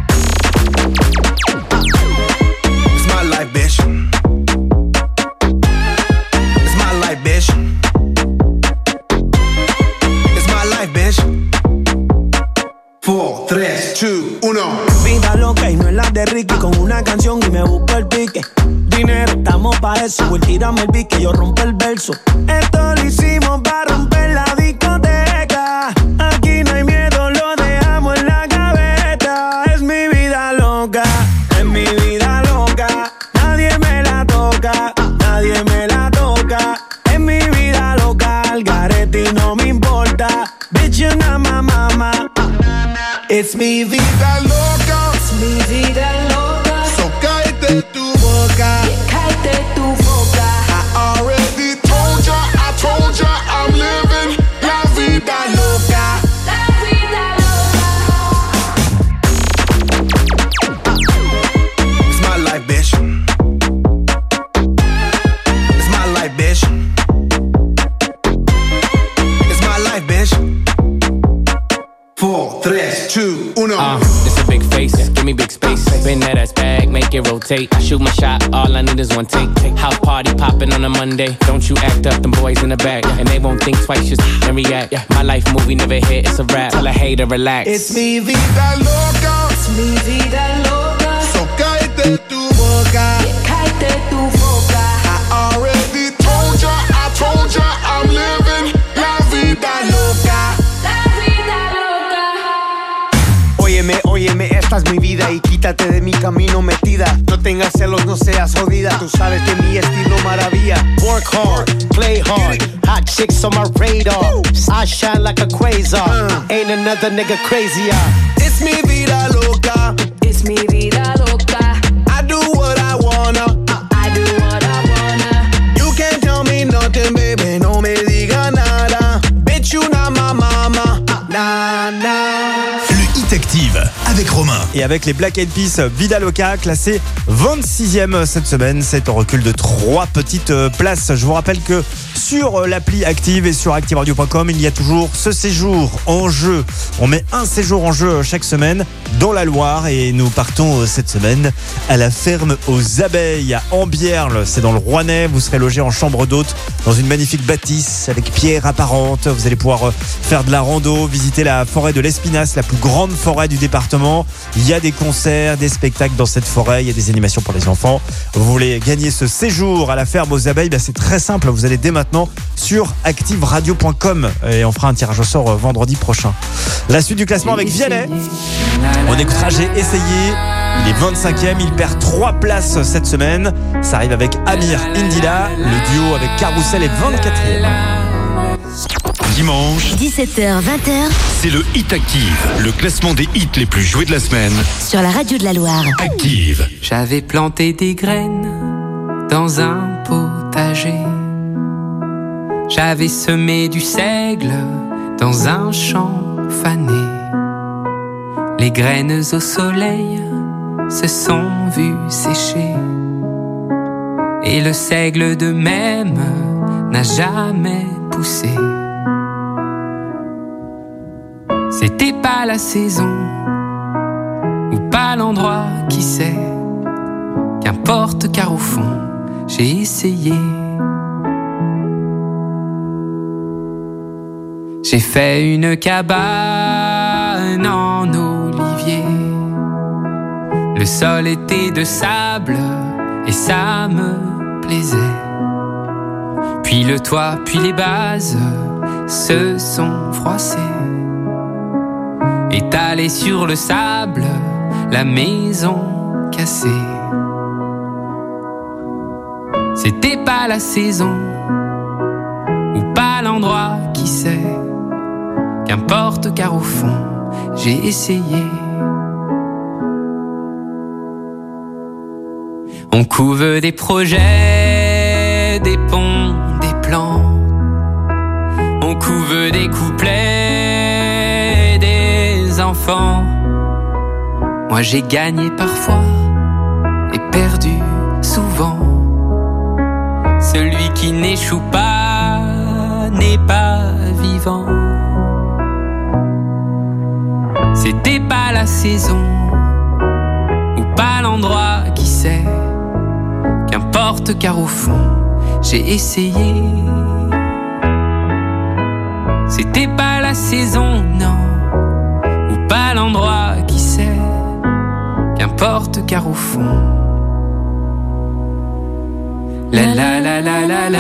It's my life, bitch. It's my life, bitch. It's my life, bitch. Four, tres, two, uno. Vida loca y no es la de Ricky. Con una canción y me busco el pique. Dinero, estamos pa' eso. Voy, tírame el pique, yo rompo el verso. Esto lo hicimos pa' romper la discoteca. Aquí no hay miedo, lo dejamos en la gaveta. Es mi vida loca, es mi vida loca. Nadie me la toca, nadie me la toca. Es mi vida loca, al garete y no me importa. Bitch, you're not my mama. It's mi vida loca. Es mi vida loca. So cállate tu boca. Yeah, cállate tu boca. I already told ya, I told ya, I'm living la vida loca. La vida loca. It's my life, bitch. It's my life, bitch. It's my life, bitch. Four, tres, two, uno. Uh, this a big face, give me big space. Spin that ass bag, make it rotate. I shoot my shot, all I need is one take. House party popping on a Monday. Don't you act up, them boys in the back. And they won't think twice, just and react. My life movie never hit, it's a rap. Tell a hater, relax. It's mi vida loca. Es mi vida loca. So cállate tu boca. Yeah, cállate tu boca. I already told ya, I told ya, I'm living la vida loca. La vida loca. Óyeme, óyeme, esta es mi vida y quítate de mi camino metida. No tengas celos, no seas jodida. Tú sabes que mi estilo maravilla. Work hard, play hard. Hot chicks on my radar. I shine like a quasar. Uh. Ain't another nigga crazier. It's mi vida loca. Es mi vida loca. I do what I wanna. I do what I wanna. You can't tell me nothing, baby. No me diga nada. Bitch, you not my mama. Nah, nah. Le Hit Active avec Romain. Et avec les Black Eyed Peas, Vida Loca, classé vingt-sixième cette semaine. C'est un recul de trois petites places. Je vous rappelle que sur l'appli Active et sur active radio point com, il y a toujours ce séjour en jeu. On met un séjour en jeu chaque semaine dans la Loire et nous partons cette semaine à la ferme aux abeilles à Ambierle. C'est dans le Rouennais. Vous serez logé en chambre d'hôte dans une magnifique bâtisse avec pierres apparentes. Vous allez pouvoir faire de la rando, visiter la forêt de l'Espinasse, la plus grande forêt du département. Il y a des concerts, des spectacles dans cette forêt. Il y a des animations pour les enfants. Vous voulez gagner ce séjour à la ferme aux abeilles, ben c'est très simple. Vous allez dès maintenant sur active radio point com et on fera un tirage au sort vendredi prochain. La suite du classement avec Vianney. On écoutera J'ai essayé. Il est vingt-cinquième, il perd trois places cette semaine. Ça arrive avec Amir Indila. Le duo avec Carousel est vingt-quatrième. Dimanche, dix-sept heures vingt, c'est le Hit Active, le classement des hits les plus joués de la semaine. sur la radio de la Loire. Active. J'avais planté des graines dans un potager. J'avais semé du seigle dans un champ fané. Les graines au soleil se sont vues sécher. Et le seigle de même n'a jamais poussé. C'était pas la saison, ou pas l'endroit, qui sait. Qu'importe car au fond, j'ai essayé. J'ai fait une cabane en olivier. Le sol était de sable et ça me plaisait. Puis le toit, puis les bases se sont froissées. Étalée sur le sable, la maison cassée. C'était pas la saison, ou pas l'endroit, qui sait. Qu'importe car au fond, j'ai essayé. On couve des projets, des ponts, des plans. On couve des couplets, des enfants. Moi j'ai gagné parfois et perdu souvent. Celui qui n'échoue pas n'est pas vivant. C'était pas la saison, ou pas l'endroit, qui sait. Qu'importe car au fond, j'ai essayé. C'était pas la saison, non, ou pas l'endroit, qui sait. Qu'importe car au fond. La la la la la la.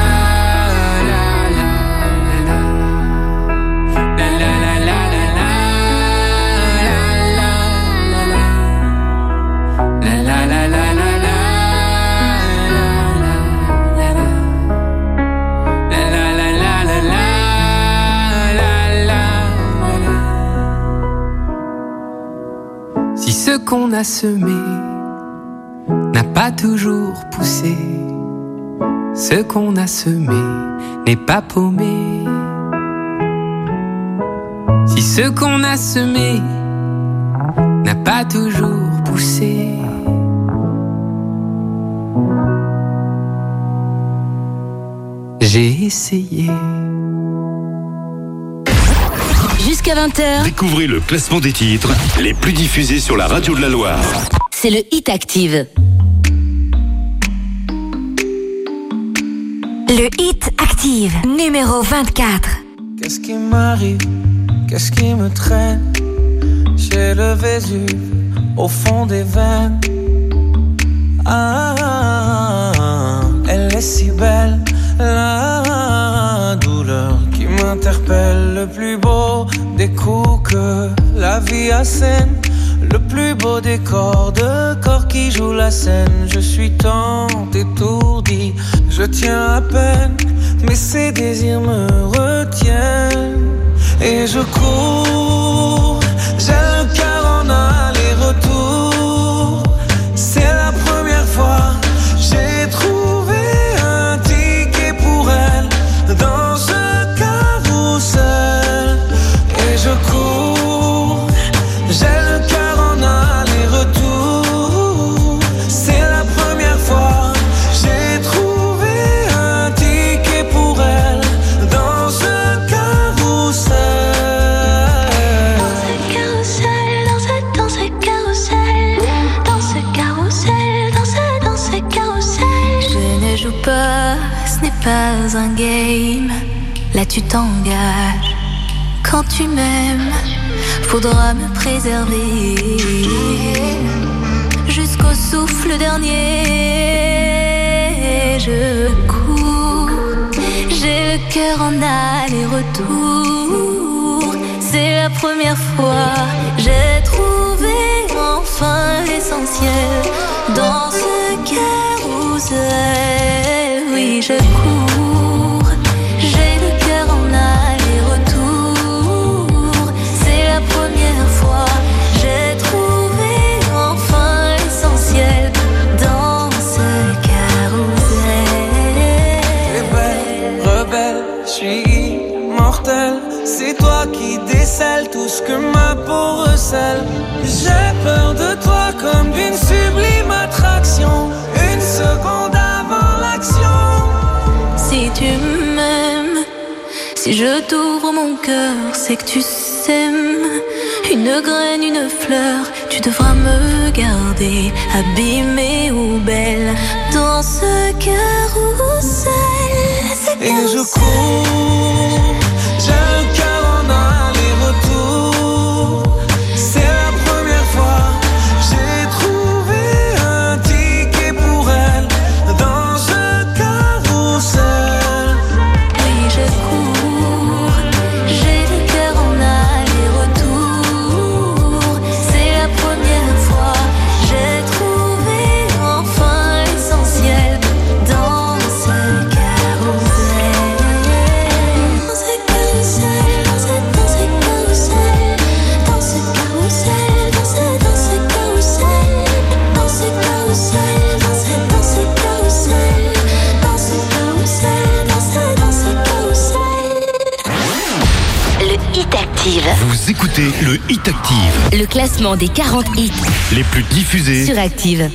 Si ce qu'on a semé n'a pas toujours poussé, ce qu'on a semé n'est pas paumé. Si ce qu'on a semé n'a pas toujours poussé, j'ai essayé. Jusqu'à vingt heures. Découvrez le classement des titres les plus diffusés sur la radio de la Loire. C'est le Hit Active. Le Hit Active, numéro vingt-quatre. Qu'est-ce qui m'arrive? Qu'est-ce qui me traîne? J'ai le Vésuve au fond des veines. Ah, elle est si belle, la douleur qui m'interpelle. Le plus beau des coups que la vie assène, le plus beau des corps de corps qui jouent la scène. Je suis tant étourdi, je tiens à peine, mais ces désirs me retiennent. Et je cours, j'ai le cœur en aller-retour. C'est la première fois, j'ai trouvé un ticket pour elle dans ce carrousel. Et je cours, j'ai le cœur en aller-retour. C'est la première fois, j'ai trouvé un ticket pour elle dans ce carrousel. Dans ce carrousel, dans ce, dans ce carrousel, dans ce carrousel, dans ce, dans ce carrousel. Je ne joue pas, ce n'est pas un game. Là tu t'engages. Quand tu m'aimes, faudra me préserver jusqu'au souffle dernier. Je cours, j'ai le cœur en aller-retour. C'est la première fois, j'ai trouvé enfin l'essentiel dans ce carrousel. Oui, je cours, j'ai le cœur en aller-retour. C'est la première fois, j'ai trouvé enfin l'essentiel dans ce carrousel. Rebelle, rebelle, je suis immortel. C'est toi qui décèles tout ce que ma peau recèle. J'ai peur de toi comme d'une sublime attraction, une seconde avant l'action. Si tu m'aimes, si je t'ouvre mon cœur, c'est que tu sèmes une graine, une fleur tu devras me garder, abîmée ou belle, dans ce carrousel. Et je cours, j'ai le cœur en aller-retour. C'est la première fois, j'ai trouvé un ticket pour elle dans ce carrousel. Oui, je cours, j'ai le cœur en aller-retour. C'est la première fois, j'ai trouvé enfin l'essentiel dans ce carrousel. Dans ce carrousel, dans ce, dans ce carrousel, dans ce carrousel, dans ce, dans ce carrousel, dans ce carrousel, dans ce, dans ce carrousel, dans ce carrousel, dans ce, dans ce carrousel. Le Hit Active. Vous écoutez le Hit Active, Le classement des quarante hits les plus diffusés sur Active.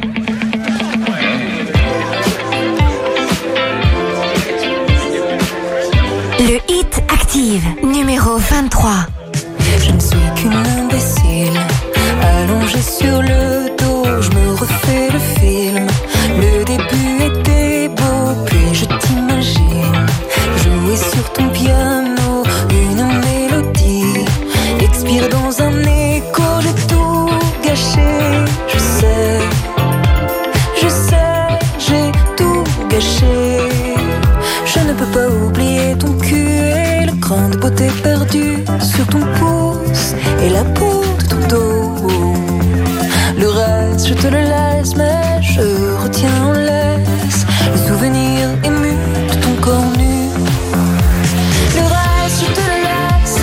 Le Hit Active, numéro vingt-trois. Je ne suis qu'une imbécile, allongée sur le dos, je me refais le film. Le début était beau, puis je t'imagine jouer sur ton piano une mélodie, expire dans un écho, j'ai tout gâché. Je sais, je sais, j'ai tout gâché. Je ne peux pas oublier ton cul et le grain de beauté perdu sur ton pouce et la peau de ton dos. Le reste, je te le laisse, mais je retiens en laisse le souvenir ému de ton corps nu. Le reste, je te le laisse.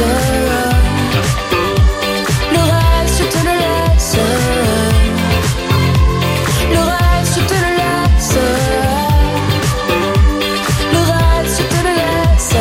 Le reste, je te le laisse. Le reste, je te le laisse. Le reste, je te le laisse.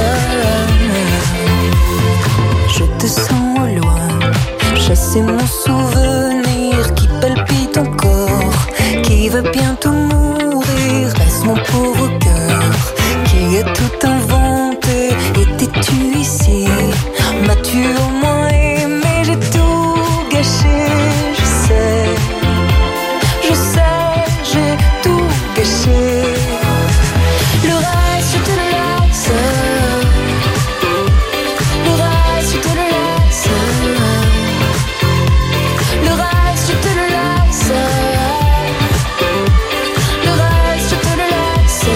Je te sens au loin, chasser mon souvenir qui palpite encore, qui va bientôt mourir. Reste mon pauvre cœur qui a tout inventé. Étais-tu ici? M'as-tu au moins aimé? J'ai tout gâché. Je sais, je sais, j'ai tout gâché. Le reste, je te le laisse. Le reste, je te le laisse. Le reste, je te le laisse. Le reste, je te le laisse.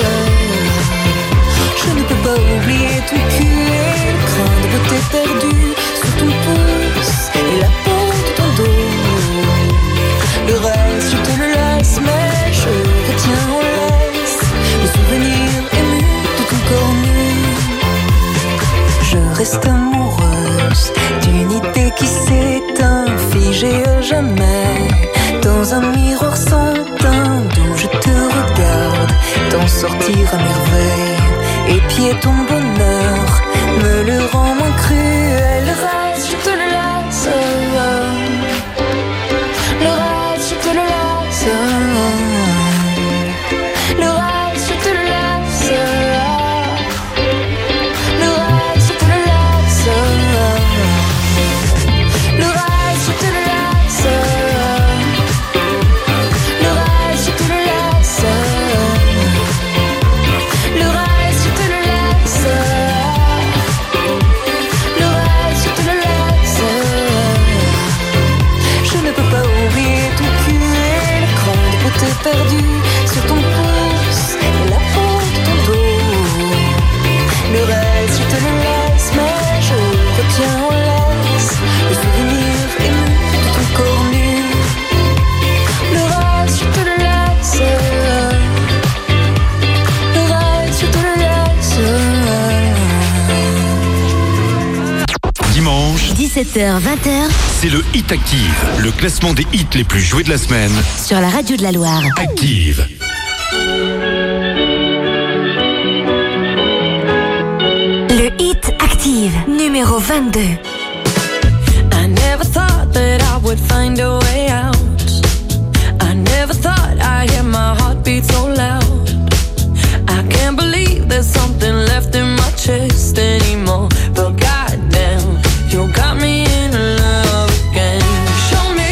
Je ne peux pas oublier ton cul et le grain de beauté perdu sur ton pouce et la peau de ton dos. Le reste, je te le laisse, mais je retiens en laisse le souvenir ému de ton corps nu. Je reste amoureuse d'une idée qui s'éteint, figée à jamais dans un miroir sans teint d'où je te regarde t'en sortir à merveille. Épier ton bonheur me le rend moins cruel. Le reste, je te le laisse. Le reste, je te le laisse. Le reste, je te le laisse. Le reste, je te le laisse. Le reste, je te le laisse. Le reste, je te le laisse. Le reste, je te le laisse. Le reste, je te le laisse. Je ne peux pas oublier ton cul et le grain de beauté perdu sur ton pouce et la peau de ton dos. Le reste, je te le laisse, mais je retiens en laisse le souvenir ému de ton corps nu. Le reste, je te le laisse. Le reste, je te le laisse. Dimanche, dix-sept heures vingt, c'est le Hit Active, le classement des hits les plus joués de la semaine. sur la radio de la Loire. Active. Le Hit Active, numéro vingt-deux. I never thought that I would find a way out. I never thought I'd hear my heartbeat so loud. I can't believe there's something left in my chest anymore. But goddamn, you got me in love again. Show me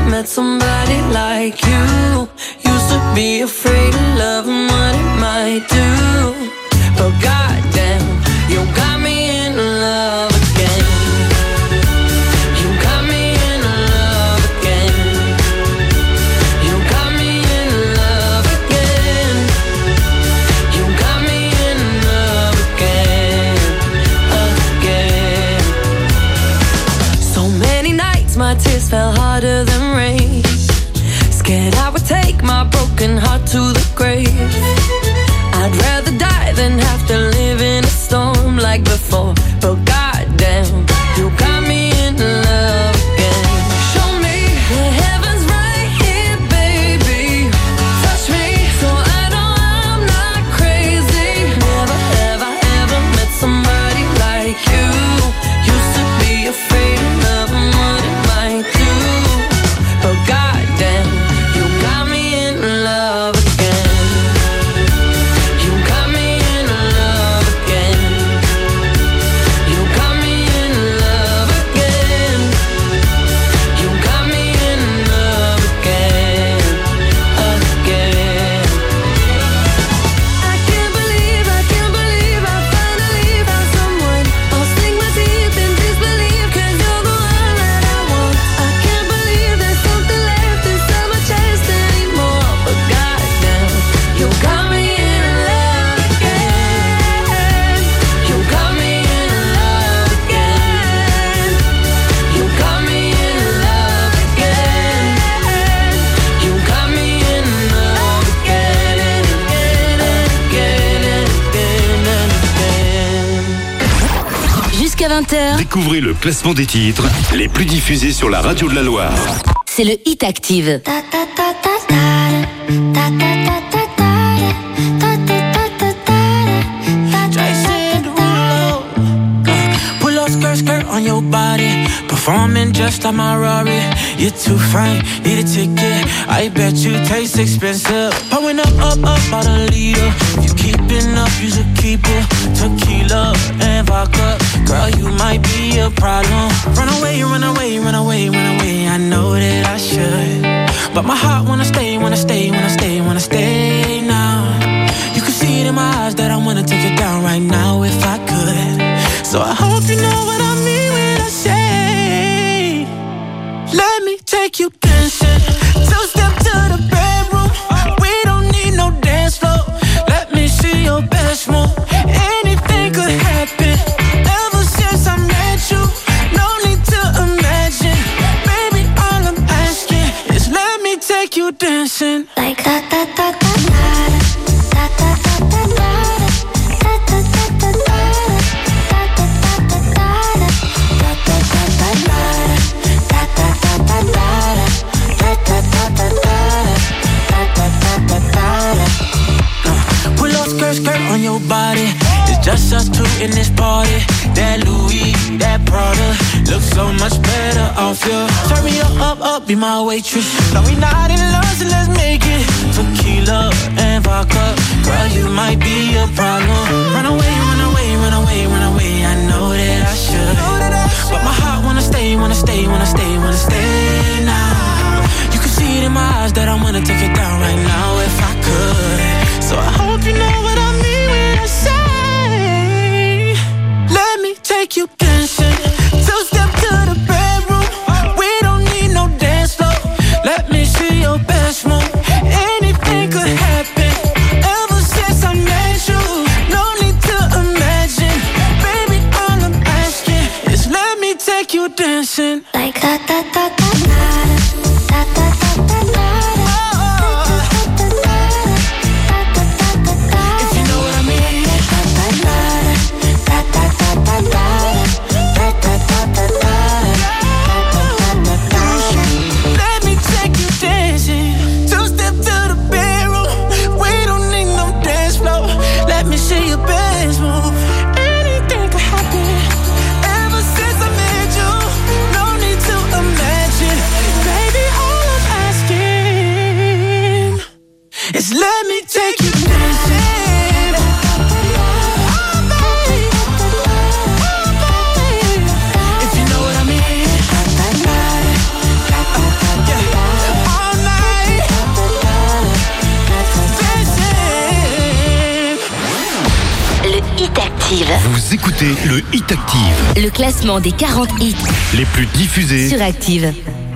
met somebody like you. Used to be afraid of love and what it might do. But goddamn, you got me in love again. You got me in love again. You got me in love again. You got me in love again, again. So many nights my tears fell harder than rain. Scared I would take my broken heart to the grave. I'd rather die than have to live in a storm like before. But goddamn, you got me in love again. Show me the heavens right here, baby. Touch me so I know I'm not crazy. Never have I ever met somebody like you. Used to be afraid of love and what it might do. But goddamn, you got me in love again. You got me in love again. You got me in love again. You got me in love again, again. I can't believe, I can't believe I finally found someone. I'll sink my teeth in disbelief, 'cause you're the one that I want. I can't believe there's something left inside my chest anymore. But goddamn, you got me in love again. You got me in love again. You got me in love again. You got me in love again and again and again and again and again. Jusqu'à vingt heures, Découvrez le classement des titres les plus diffusés sur la radio de la Loire. c'est le Hit Active. Jason Derulo. Pull up skirt, skirt on your body. Performing just like my Rari. You're too fine, need a ticket. I bet you taste expensive. Pouring up, up, up, about a liter. If you keeping up, you should keep it. Tequila and vodka. Girl, you might be a problem. Run away, run away, run away, run away. I know that I should. But my heart wanna stay, wanna stay, wanna stay, wanna stay now. You can see it in my eyes that I wanna take it down right now if I could. So I hope you know what I mean when I say, let me take you dancing. Two step to the bedroom. We don't need no dance floor. Let me see your best move. Anything could happen. Ever since I met you, no need to imagine. Baby, all I'm asking is let me take you dancing. Like da da da da da da da da da da Pull up skirt, skirt on your body. It's just us two in this party. That Louis, that Prada looks so much better off you. Turn me up, up, up, be my waitress. No, we not in love, so let's make it. Tequila and vodka. Girl, you might be a problem. Run away, run away, run away, run away. I know that I should. But my heart wanna stay, wanna stay, wanna stay, wanna stay now. You can see it in my eyes that I wanna take it down right now if I could. So I hope you know what I mean when I say, let me take you dancing. Two step to the bedroom. We don't need no dance floor. Let me see your best move. Anything could happen. Ever since I met you, no need to imagine. Baby, all I'm asking is let me take you dancing. like da da da da da da da da da da. Vous écoutez le Hit Active. Le classement des quarante hits Les plus diffusés sur Active.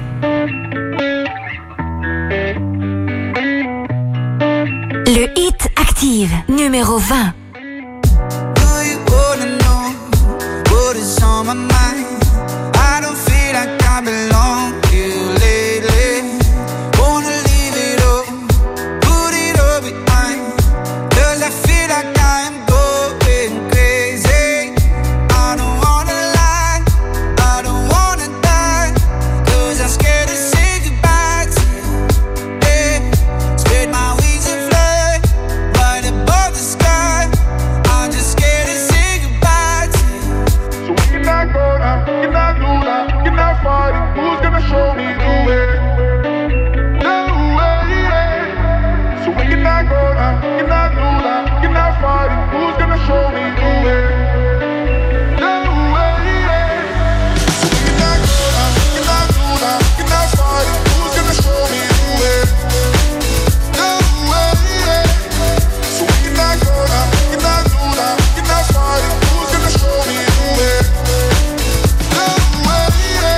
Le Hit Active, numéro vingt. Do you wanna know what is on my mind? I don't feel like I belong here lately. Wanna leave it all, put it all behind. Cause I feel like I am going crazy. I don't wanna lie, I don't wanna die. Cause I'm scared to say goodbye to you. Yeah, spread my wings and fly right above the sky. I'm just scared to say goodbye to you. So we cannot go now, cannot do that, cannot fight it. Who's gonna show me the way? The way, yeah. So we cannot go now, cannot do that, cannot fight it. Who's gonna show me the way? The way, yeah. So we cannot go now, cannot do that, cannot fight it. Who's gonna show me the way? The way, yeah. So we cannot go now, cannot do that, cannot fight it. Who's gonna show me the way? The way, yeah.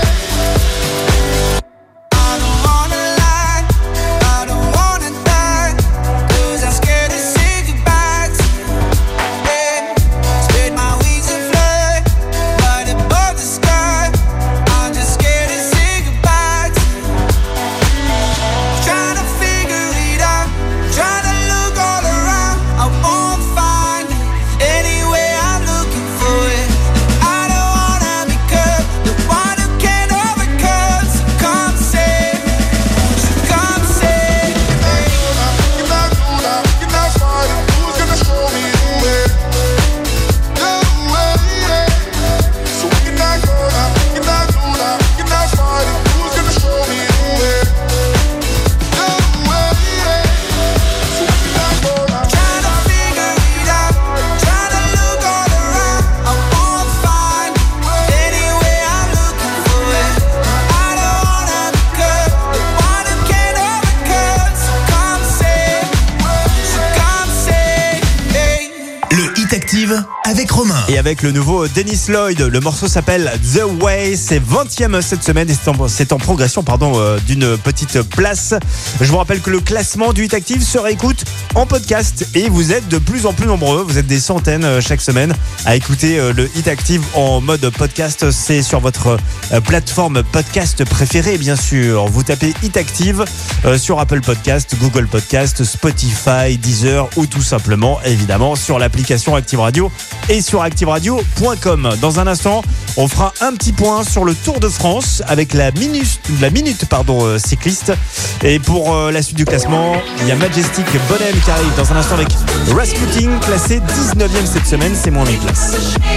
I don't wanna lie, I don't wanna die. Cause I'm scared to say goodbye to you. Yeah, spread my wings and fly right above the sky. I'm just scared to say goodbye to you. Trying to figure it out, trying to look all around. I won't find it anyway, I'm looking for it. I don't wanna become the one who can't overcome. So come save me, so come save me. Cannot do that, cannot fight it. Who's gonna show me the way? The way, yeah. So we cannot go now, cannot do that, cannot fight it. Who's gonna show me the way? The way, yeah. So we cannot go now. Trying to figure it out, trying to look all around. I won't find it anyway, I'm looking for it. I don't wanna become the one who can't overcome. So come save me, so come save me. Le Hit Active avec Romain. Et avec le nouveau Dennis Lloyd, le morceau s'appelle The Way, c'est vingtième cette semaine et c'est en, c'est en progression pardon, euh, d'une petite place. Je vous rappelle que le classement du Hit Active se réécoute en podcast et vous êtes de plus en plus nombreux, vous êtes des centaines euh, chaque semaine à écouter euh, le Hit Active en mode podcast. C'est sur votre euh, plateforme podcast préférée bien sûr. Vous tapez Hit Active euh, sur Apple Podcast, Google Podcast, Spotify, Deezer ou tout simplement évidemment sur l'application Active Radio et sur active radio point com. Dans un instant, on fera un petit point sur le Tour de France avec la minute, la minute pardon, euh, cycliste. Et pour euh, la suite du classement, il y a Majestic Bonhomme qui arrive dans un instant avec Rasputin, classé dix-neuvième cette semaine, c'est moins mes places.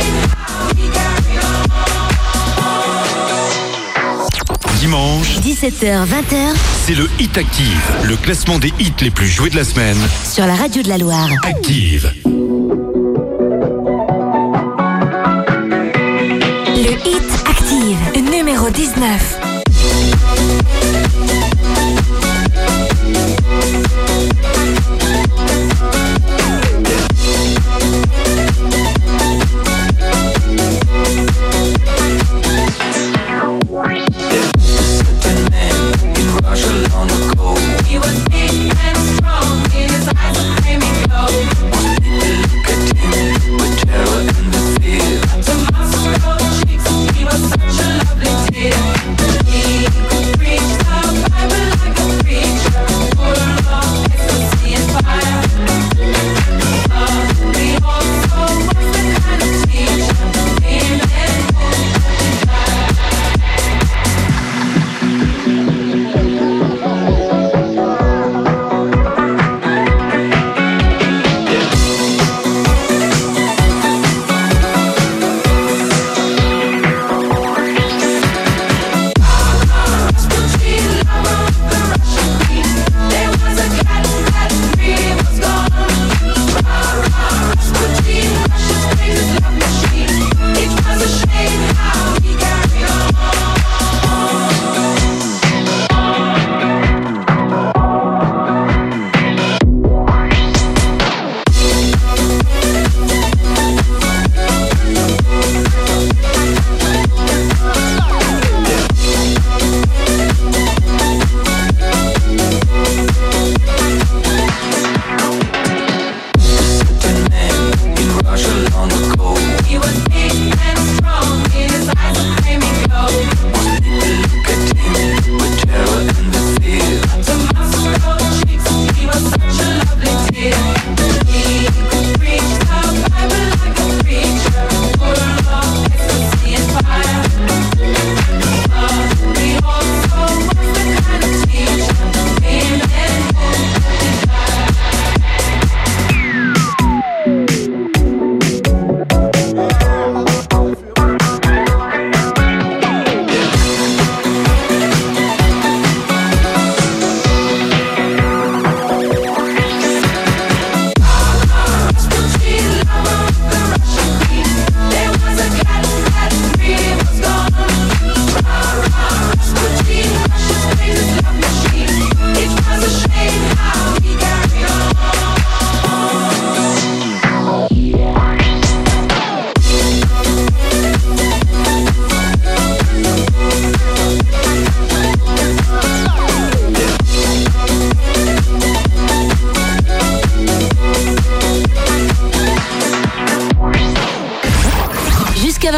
Dimanche, dix-sept heures vingt, c'est le Hit Active, le classement des hits les plus joués de la semaine. sur la radio de la Loire. Active. Le Hit Active, numéro dix-neuf. Tomorrow cheeks, he was such a lovely tear.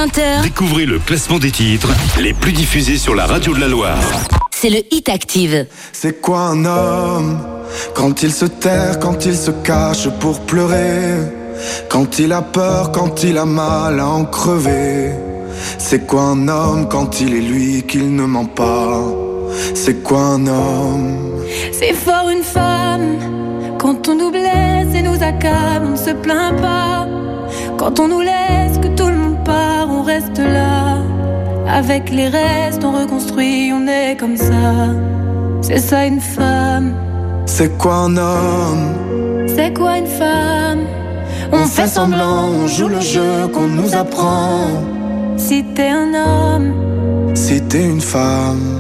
vingt heures. Découvrez le classement des titres les plus diffusés sur la radio de la Loire. C'est le Hit Active. C'est quoi un homme? Quand il se terre, quand il se cache pour pleurer, quand il a peur, quand il a mal à en crever. C'est quoi un homme quand il est lui qu'il ne ment pas? C'est quoi un homme? C'est fort une femme quand on nous blesse et nous accable, on ne se plaint pas. Quand on nous laisse, que tout le monde part, on reste là. Avec les restes, on reconstruit, on est comme ça. C'est ça une femme. C'est quoi un homme? C'est quoi une femme? On fait semblant, on joue le jeu qu'on nous apprend. Si t'es un homme, si t'es une femme.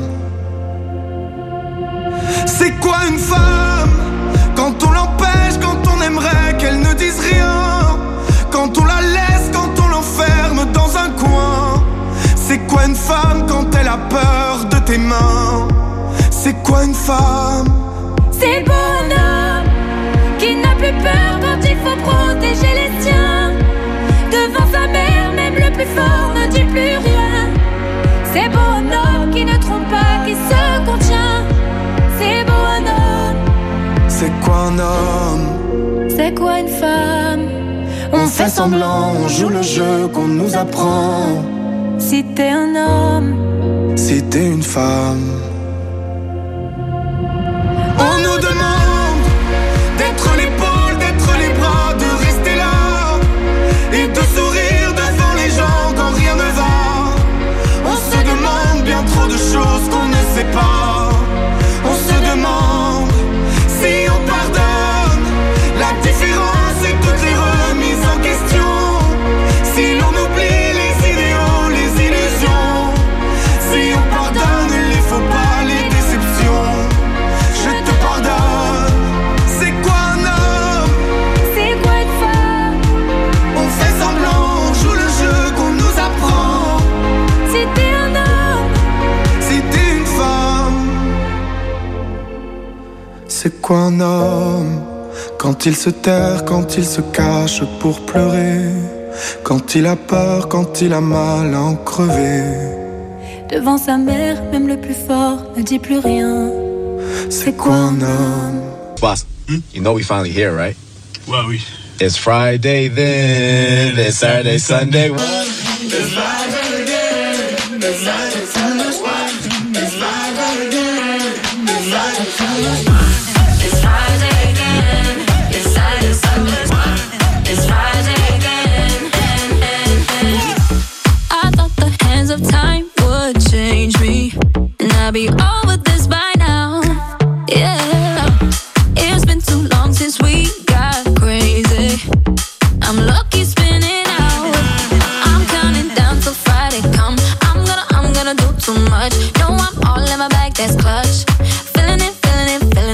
C'est quoi une femme? Quand on l'empêche, quand on aimerait qu'elle ne dise rien, quand on la laisse, quand on l'enferme dans un coin. C'est quoi une femme quand elle a peur de tes mains? C'est quoi une femme? c'est le bonhomme qui n'a plus peur quand il faut protéger les siens. Devant sa mère, même le plus fort ne dit plus rien. C'est beau un homme qui ne trompe pas, qui se contient. C'est beau un homme. C'est quoi un homme? C'est quoi une femme? On fait semblant, on joue le jeu qu'on nous apprend. Si t'es un homme, si t'es une femme. On nous demande d'être l'épaule, d'être les bras, de rester là et de sourire devant les gens quand rien ne va. On se demande bien trop de choses qu'on ne sait pas. On se demande si on pardonne la différence et toutes les remises en question. Si l'on oublie les idéaux, les illusions. Si on pardonne les faux pas, les déceptions. Je te pardonne. C'est quoi un homme? c'est quoi une femme? On fait semblant, on joue le jeu qu'on nous apprend. Si t'es un homme, si t'es une femme. C'est quoi un homme? Quand il se terre, quand il se cache pour pleurer, quand il a peur, quand il a mal à en crever. devant sa mère, même le plus fort ne dit plus rien. C'est quoi un homme? Boss, hmm? You know we finally here, right? Ouais, oui. It's Friday then, it's Saturday, Sunday. What? It's Friday again, it's Saturday, Sunday. It's Friday again, it's Saturday, Sunday. It's Friday again, it's Saturday, Sunday. It's Friday again, I thought the hands of time would change me, and I'd be over this by now. Yeah, it's been too long since we got crazy. I'm lucky spinning out. I'm counting down till Friday come. I'm gonna, I'm gonna do too much. No, I'm all in my bag, that's clutch. Feeling it, feeling it, feeling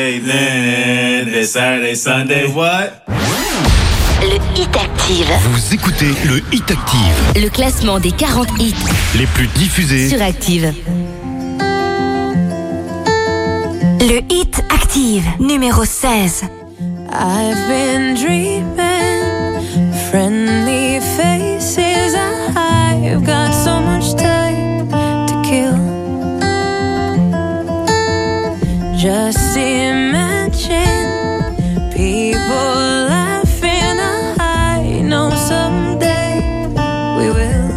Friday, then it's Saturday, Sunday, what? Le Hit Active. Vous écoutez le Hit Active. Le classement des quarante hits Les plus diffusés sur Active. Le Hit Active, numéro seize. I've been dreaming, friendly faces. I've got so much time to kill. Just imagine people laughing. I know someday we will.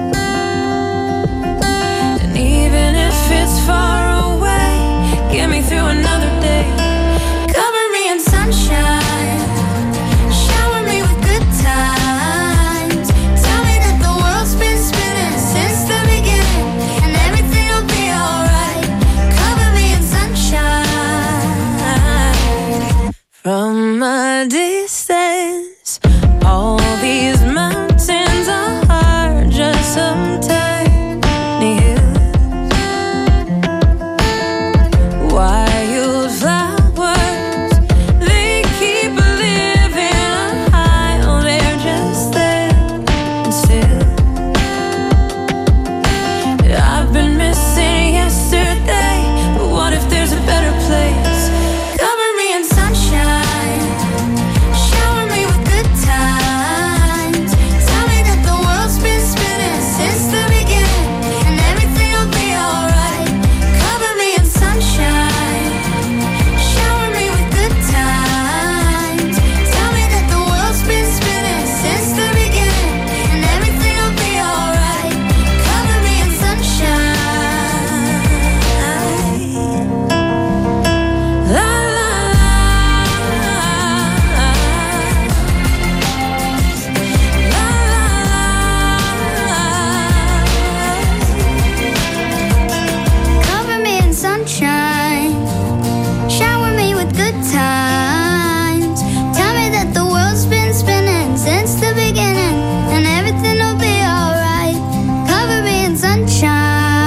And even if it's far away, get me through another day. Cover me in sunshine, shower me with good times. Tell me that the world's been spinning since the beginning, and everything will be alright. Cover me in sunshine. From a distance, all these mountains are just some tiny hills. Wildflowers, they keep living high. Oh, they're just there and still. I've been missing yesterday, but what if there's a better place? Cover me in sunshine, shower me with good times. Tell me that the world's been spinning since the beginning, and everything will be alright. Cover me in sunshine, shower me with good times. Tell me that the world's been spinning since the beginning, and everything will be alright. Cover me in sunshine. La la Cover me in sunshine, shower me with good times. Tell me that the world's been spinning since the beginning, and everything will be alright. Cover me in sunshine.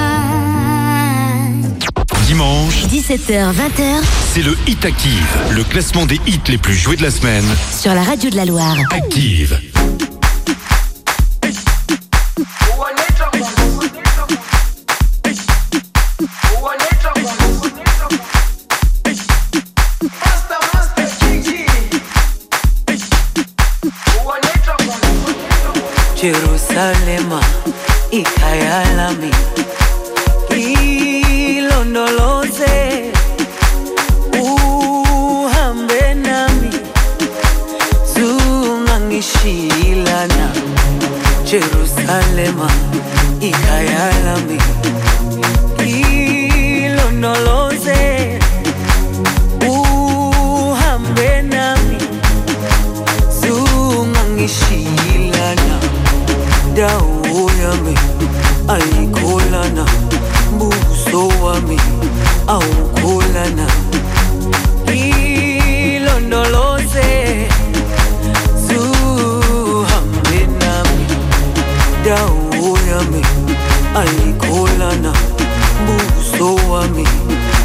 Dimanche, dix-sept heures vingt heures c'est le Hit Active, le classement des hits les plus joués de la semaine. sur la radio de la Loire. Active. Jerusalema ikhaya lami ilondoloze uhambe nami zungangishilana Jerusalema ikhaya lami ilondoloze uhambe nami zungangishilana dawo yami ayikholana buso wami awukholana ilondoloze zuhambe nami dawo yami ayikholana buso wami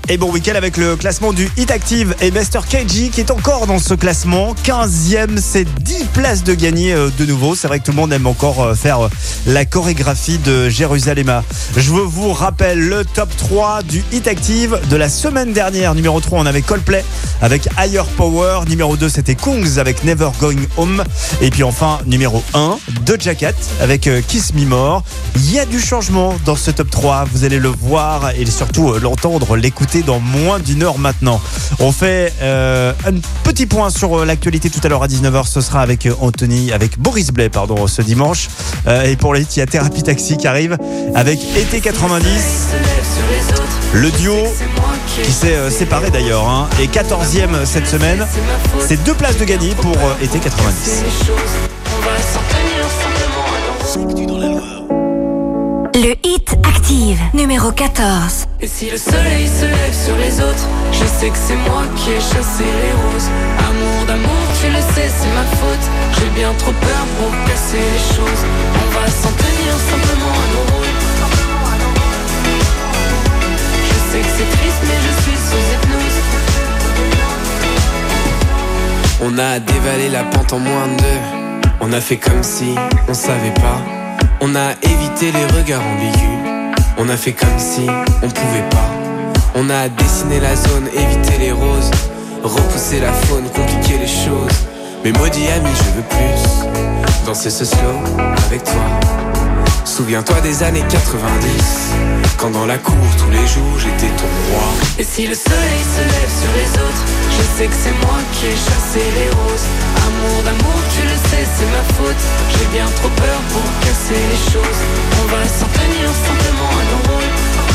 Et bon week-end avec le classement du Hit Active et Master K G qui est encore dans ce classement. quinzième, c'est dix places de gagner de nouveau. C'est vrai que tout le monde aime encore faire la chorégraphie de Jérusalem. Je vous rappelle le top trois du Hit Active de la semaine dernière. Numéro trois, on avait Coldplay avec Higher Power. Numéro deux, c'était Kungs avec Never Going Home. Et puis enfin, numéro un, Doja Cat avec Kiss Me More. Il y a du changement dans ce top trois. Vous allez le voir et surtout l'entendre, l'écouter dans moins d'une heure maintenant. On fait euh, un petit point sur l'actualité tout à l'heure à dix-neuf heures. Ce sera avec Anthony, avec Boris Blais, pardon, ce dimanche. Euh, et pour les il y a Thérapie Taxi qui arrive avec Été quatre-vingt-dix. Le duo qui s'est euh, séparé d'ailleurs hein, et quatorzième cette semaine. C'est deux places de gagner pour euh, Été quatre-vingt-dix. Le Hit Active, numéro quatorze. Et si le soleil se lève sur les autres, je sais que c'est moi qui ai chassé les roses. Amour d'amour, tu le sais, c'est ma faute. J'ai bien trop peur pour casser les choses. On va s'en tenir simplement à nos rôles. Je sais que c'est triste, mais je suis sous hypnose. On a dévalé la pente en moins de deux. On a fait comme si on savait pas. On a évité les regards ambigus. On a fait comme si on pouvait pas. On a dessiné la zone, évité les roses. Repousser la faune, compliquer les choses. Mais maudit ami, je veux plus danser ce slow avec toi. Souviens-toi des années quatre-vingt-dix, quand dans la cour tous les jours j'étais ton roi. Et si le soleil se lève sur les autres, je sais que c'est moi qui ai chassé les roses. Amour d'amour, tu le sais, c'est ma faute. J'ai bien trop peur pour casser les choses. On va s'en tenir simplement à nos rôles.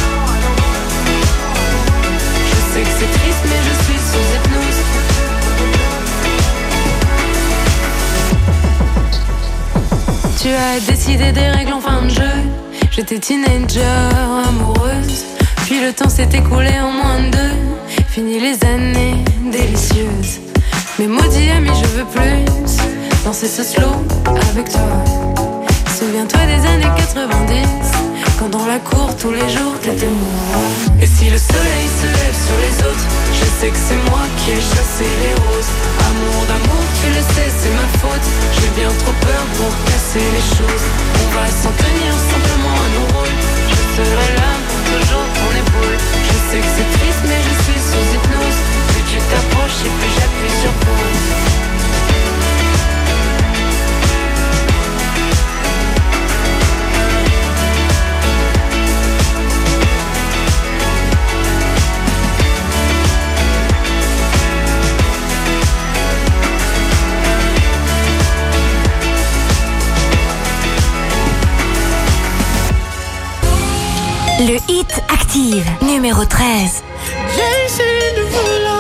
Je sais que c'est triste, mais je suis sous hypnose. Tu as décidé des règles en fin de jeu. J'étais teenager, amoureuse. Puis le temps s'est écoulé en moins de deux. Fini les années délicieuses. Mais maudit ami, je veux plus danser ce slow avec toi. Souviens-toi des années quatre-vingt-dix, quand dans la cour tous les jours t'étais moi. Et si le soleil se lève sur les autres, je sais que c'est moi qui ai chassé les roses. Amour d'amour, tu le sais, c'est ma faute. J'ai bien trop peur pour casser les choses. On va s'en tenir simplement à nos rôles. Je serai là pour toujours ton épaule. Je sais que c'est triste mais je suis sous hypnose. Plus tu t'approches et plus j'appuie sur pause. Le Hit Active, numéro treize. J'ai essayé de voler.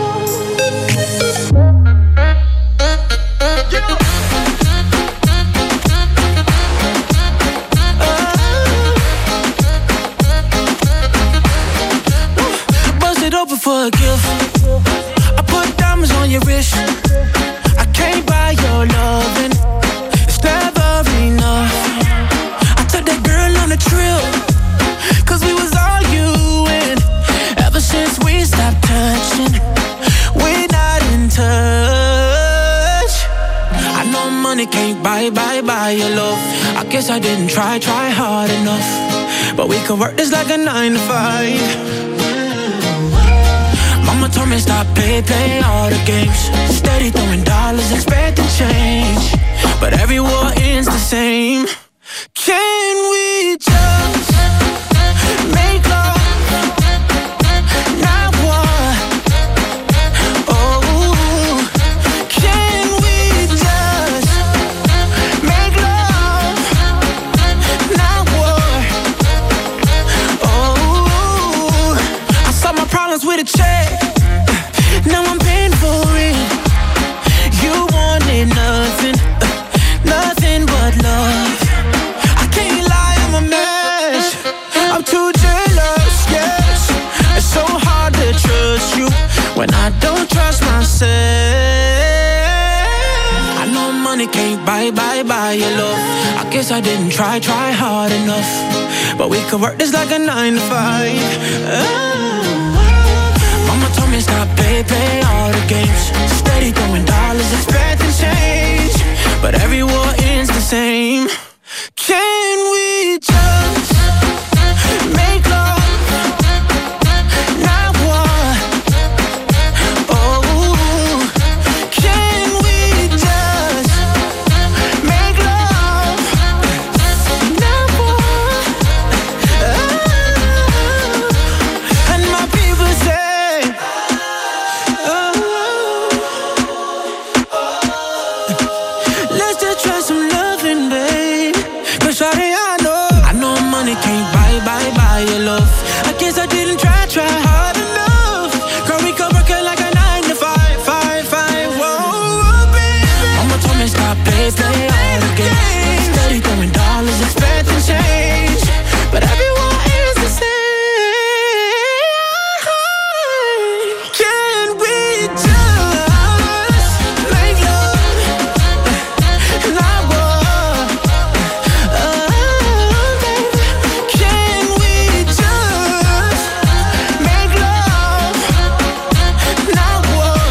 Bust it open for a gift. I put diamonds on your wrist. I can't buy your loving. It's never enough. I took that girl on a trip. Cause we was arguing. Ever since we stopped touching, we're not in touch. I know money can't buy, buy, buy your love. I guess I didn't try, try hard enough. But we could work this like a nine to five. Mama told me stop, play, play all the games. Steady throwing dollars, expecting change. But every war ends the same. Can we just make love? Not war. Oh, can we just make love? Not war. Oh, I solved my problems with a check. Now I'm paying for it. You wanted nothing, nothing but love. I can't lie, I'm a mess. I'm too jealous, yes. It's so hard to trust you when I don't trust myself. I know money can't buy, buy, buy your love. I guess I didn't try, try hard enough. But we could work this like a nine to five. Oh. stop, play, play all the games. Steady throwing dollars, expecting change, but every war ends the same. Can we just make love, not war? Oh, can we just make love, not war? Oh, and my people say, oh, let's just try some loving, babe. Cause shawty, I know, I know money can't buy, buy, buy your love. I guess I didn't try, try hard enough. Girl, we could work it like a nine to five, five, five, whoa, baby. Mama told me stop, play, play all the games. Steady throwing dollars, expecting change, but everyone is the same. Can we just make love, not war? Oh, baby, can we just make love, not war?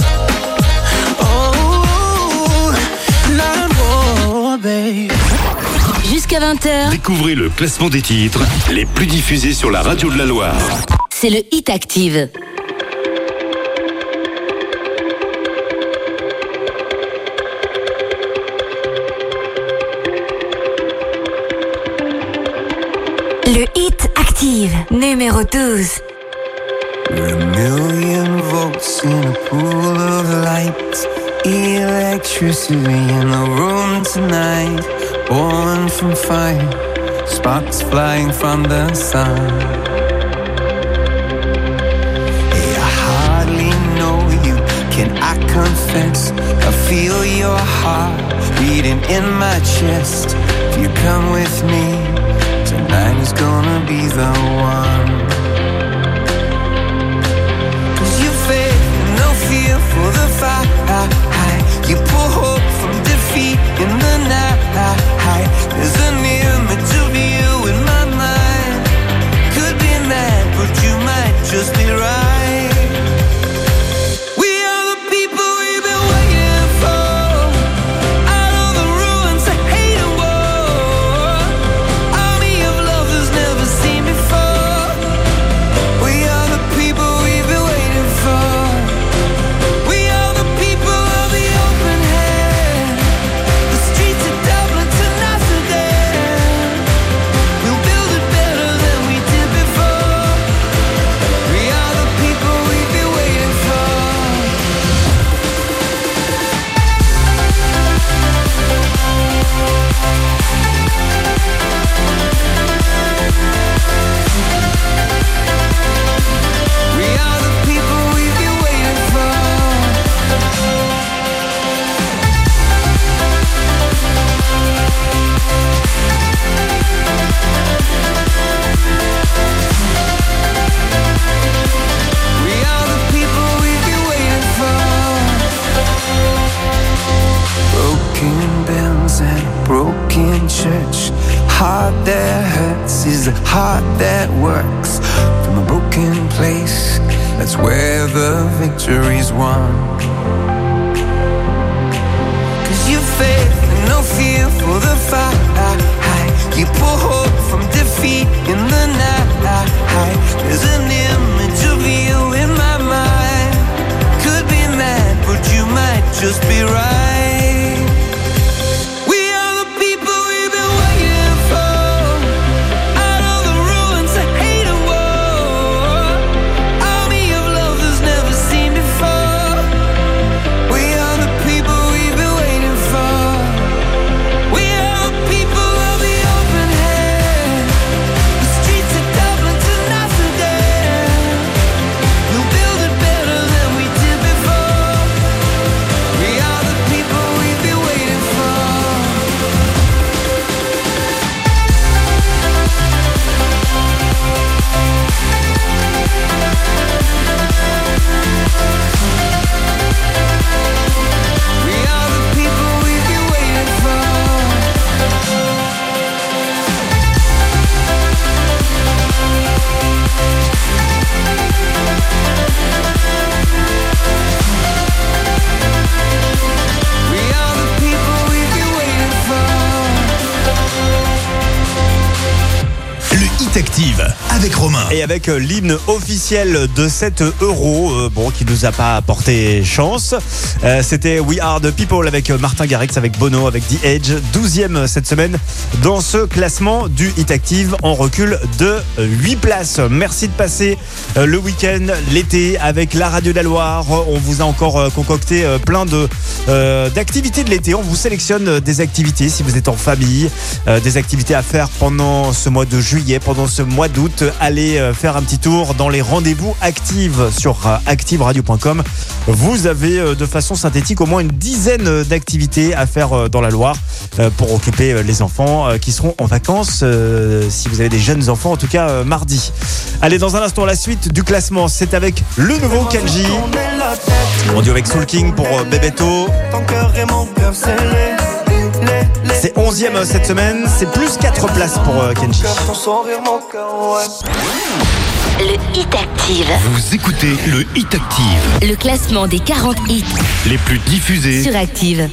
Oh, not war, babe. Jusqu'à vingt heures, Découvrez le classement des titres les plus diffusés sur la radio de la Loire. c'est le Hit Active. Le Hit Active, numéro douze. We're a million volts in a pool of light. Electricity in the room tonight. Born from fire, sparks flying from the sun. Hey, I hardly know you, can I confess? I feel your heart beating in my chest. If you come with me, tonight is gonna be the one. Cause you faith, no fear for the fight. You pull hope from defeat in the night. There's an image of you in my mind. Could be mad, but you might just be right. We are the people we've been waiting for. Out of the ruins of hate and war. Army of lovers never seen before. We are the people we've been waiting for. We are the people of the open hand. The streets of Dublin to Amsterdam. We'll build it better than we did before. We are the people we've been waiting for. We are the people we've been waiting for. We are the people we've been waiting for. Broken bells and broken church. Heart that hurts is a heart that works. From a broken place, that's where the victory's won. Cause you faith and no fear for the fight. You pull hope from defeat in the night. There's an image of you in my mind. Could be mad, but you might just be right. We are the people we've been waiting for. Out of the ruins of hate and war. Army of lovers never seen before. We are the people we've been waiting for. We are the people of the open hand. The streets of Dublin to Amsterdam. We'll build it better than we did before. We are the people Hit Active avec Romain. Et avec euh, l'hymne officiel de sept euros, euh, bon, qui nous a pas porté chance. Euh, c'était We Are the People avec euh, Martin Garrix, avec Bono, avec The Edge. douzième cette semaine dans ce classement du Hit Active en recul de huit places. Merci de passer euh, le week-end, l'été avec la radio de la Loire. On vous a encore euh, concocté euh, plein de, euh, d'activités de l'été. On vous sélectionne euh, des activités si vous êtes en famille, euh, des activités à faire pendant ce mois de juillet, pendant ce mois d'août. Allez euh, faire un petit tour dans les rendez-vous Active sur euh, active radio point com. Vous avez euh, de façon synthétique au moins une dizaine d'activités à faire euh, dans la Loire euh, pour occuper euh, les enfants euh, qui seront en vacances, euh, si vous avez des jeunes enfants, en tout cas euh, mardi. Allez, dans un instant, la suite du classement, c'est avec le nouveau Kenji. On dit avec Soul King pour euh, Bebeto. C'est onzième cette semaine, c'est plus quatre places pour euh, Kenji. Le Hit Active. Vous écoutez le Hit Active. Le classement des quarante hits Les plus diffusés sur Active.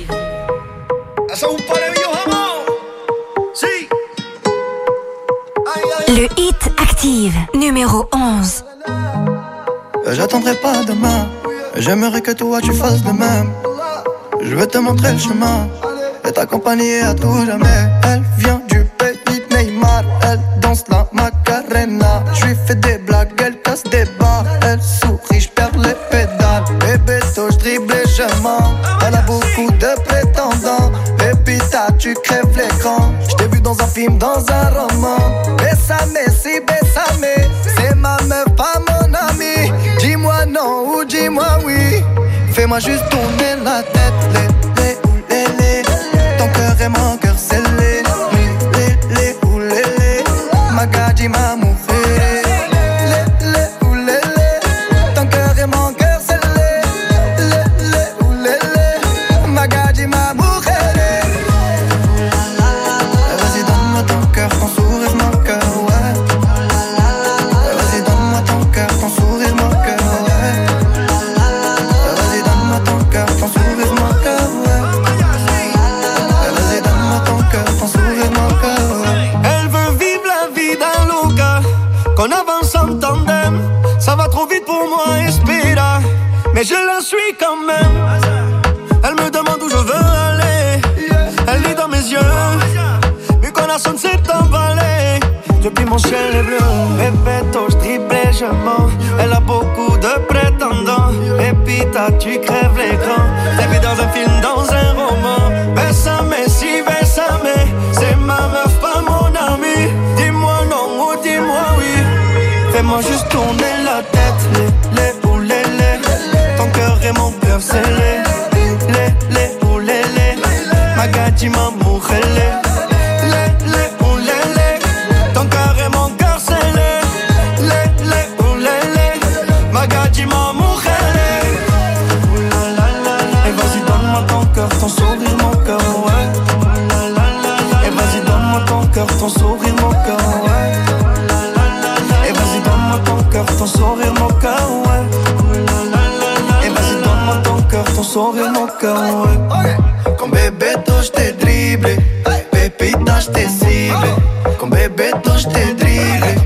Le Hit Active, numéro onze. J'attendrai pas demain, j'aimerais que toi tu fasses de même. Je vais te montrer le chemin et t'accompagner à tout jamais. Elle vient du pays de Neymar, elle danse la Macarena. Je lui fais des blagues, elle casse des barres. Elle sourit, je perds les pédales. Bébé, toi je dribble et je mens. Elle a beaucoup de prétendants. Et puis t'as, tu crèves l'écran. Je t'ai vu dans un film, dans un roman. Bessame, si bessame, c'est ma meuf, pas mon ami. Dis-moi non ou dis-moi oui. Fais-moi juste tourner la tête. Les, les, ou les, les. Ton cœur est mon cœur scellé. Les, les, ou les, les. Magadji ma mujer. Les, les, ou les, les. Ton cœur est mon cœur scellé. Les, les, ou les, les. Magadji ma mujer. Vas-y donne-moi ton cœur, ton sourire, mon cœur, ouais. Vas-y donne-moi ton cœur, ton sourire, mon cœur, ouais. Vas-y donne-moi ton cœur, ton sourire, mon cœur, ouais. Vas-y donne-moi ton cœur, ton sourire, mon cœur, ouais. Elle veut vivre la vie d'un loca, qu'on avance en tandem. Ça va trop vite pour moi, Espira, mais je la suis quand même. Elle me demande où je veux aller. Elle lit dans mes yeux, mi corazón s'est emballé. Depuis mon ciel est bleu, Bebeto, je dribble et je mens. Elle a beaucoup de prétendants. Et puis t'as, tu crèves l'écran. T'es vu dans un film, dans un roman. Bessame, si bessame, c'est ma meuf, pas mon ami. Dis-moi non ou dis-moi oui. Fais-moi juste tourner la tête. Les, les ou les, les. Ton cœur est mon cœur scellé. Les, les ou les, les. Magadji ma mujer. Les, les ou les, les. Ton cœur est mon cœur scellé. Les, les ou les, les. Magadji ma mujer. Et vas-y donne-moi ton cœur, ton sourire, mon cœur, ouais. Et vas-y donne-moi ton cœur, ton sourire, mon cœur, ouais. Et vas-y donne-moi ton cœur, ton sourire, mon cœur, ouais. Et vas-y donne-moi ton cœur, ton sourire, mon cœur, ouais. Con Bebeto je t'ai dribblé, Pépita je t'ai ciblé. Con Bebeto je t'ai dribblé.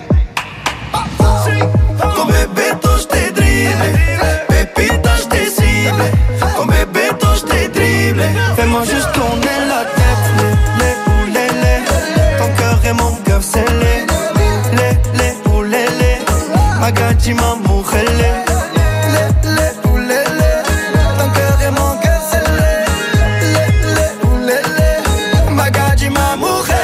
Con Bebeto je t'ai dribblé, Pépita je t'ai ciblé. Con Bebeto je t'ai dribblé. Fais-moi juste tourner la tête. Les, les ou les, les. Ton cœur est mon cœur scellé. Les, les ou les, les. Magadji ma mujer. Les, les ou les, les. Ton cœur est mon cœur scellé. Les, les ou les, les. Magadji ma mujer.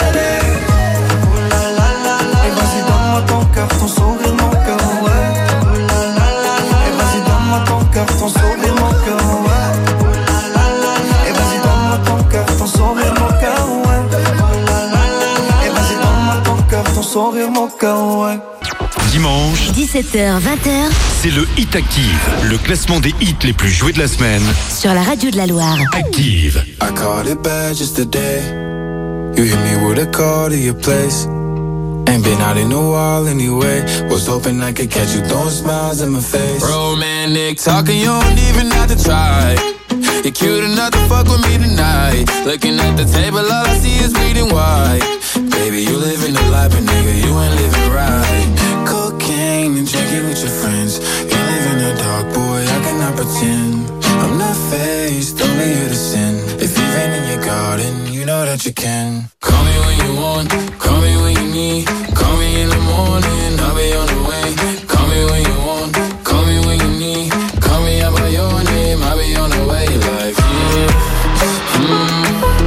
Et vas-y donne-moi ton cœur, ton sourire, mon cœur, ouais. Et vas-y donne-moi ton cœur, ton sourire, mon cœur, ouais. Et vas-y donne-moi ton cœur, ton sourire, mon cœur, ouais. Et vas-y donne-moi ton cœur, ton sourire, mon cœur, ouais. Dimanche, dix-sept heures vingt, c'est le Hit Active, le classement des hits les plus joués de la semaine. sur la radio de la Loire. Active. I called it bad just today. You hit me with a call to your place. Ain't been out in a while anyway. Was hoping I could catch you throwing smiles in my face. Romantic talking, you don't even have to try. You're cute enough to fuck with me tonight. Looking at the table, all I see is bleeding white. Baby, you living the life, but nigga, you ain't living know that you can. Call me when you want, call me when you need. Call me in the morning, I'll be on the way. Call me when you want, call me when you need. Call me out by your name, I'll be on the way. Like, mm, mm,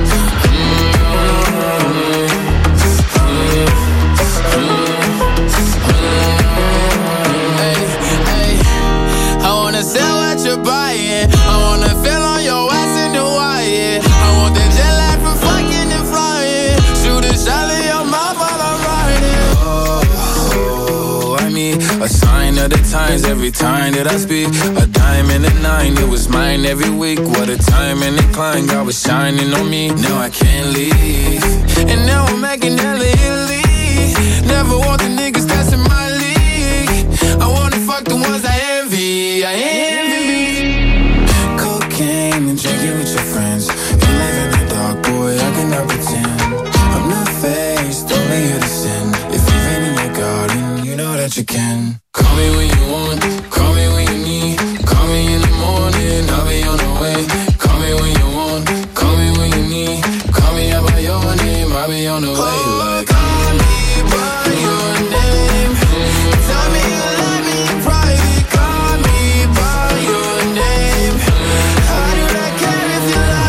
sell what you're buying. I wanna feel on your ass in Hawaii. I want that jet lag from fucking and flying. Shoot a shot in your mouth while I'm riding. oh, I mean, a sign of the times every time that I speak. A diamond and a nine, it was mine every week. What a time and a climb, God was shining on me. Now I can't leave. And now I'm making hella Italy. Never want the niggas that's in my league. I wanna fuck the ones I envy. I envy. Cocaine and drinking with your friends. You live in the dark, boy, I cannot pretend. I'm not faced, only here to sin. If you've been in your garden, you know that you can. Call me when you want, call me when you need. Call me in the morning, I'll be on the way. Call me when you want, call me when you need. Call me out by your name, I'll be on the way. Like, call me by your name. Tell me you love me in private. Call me by your name. I do not care if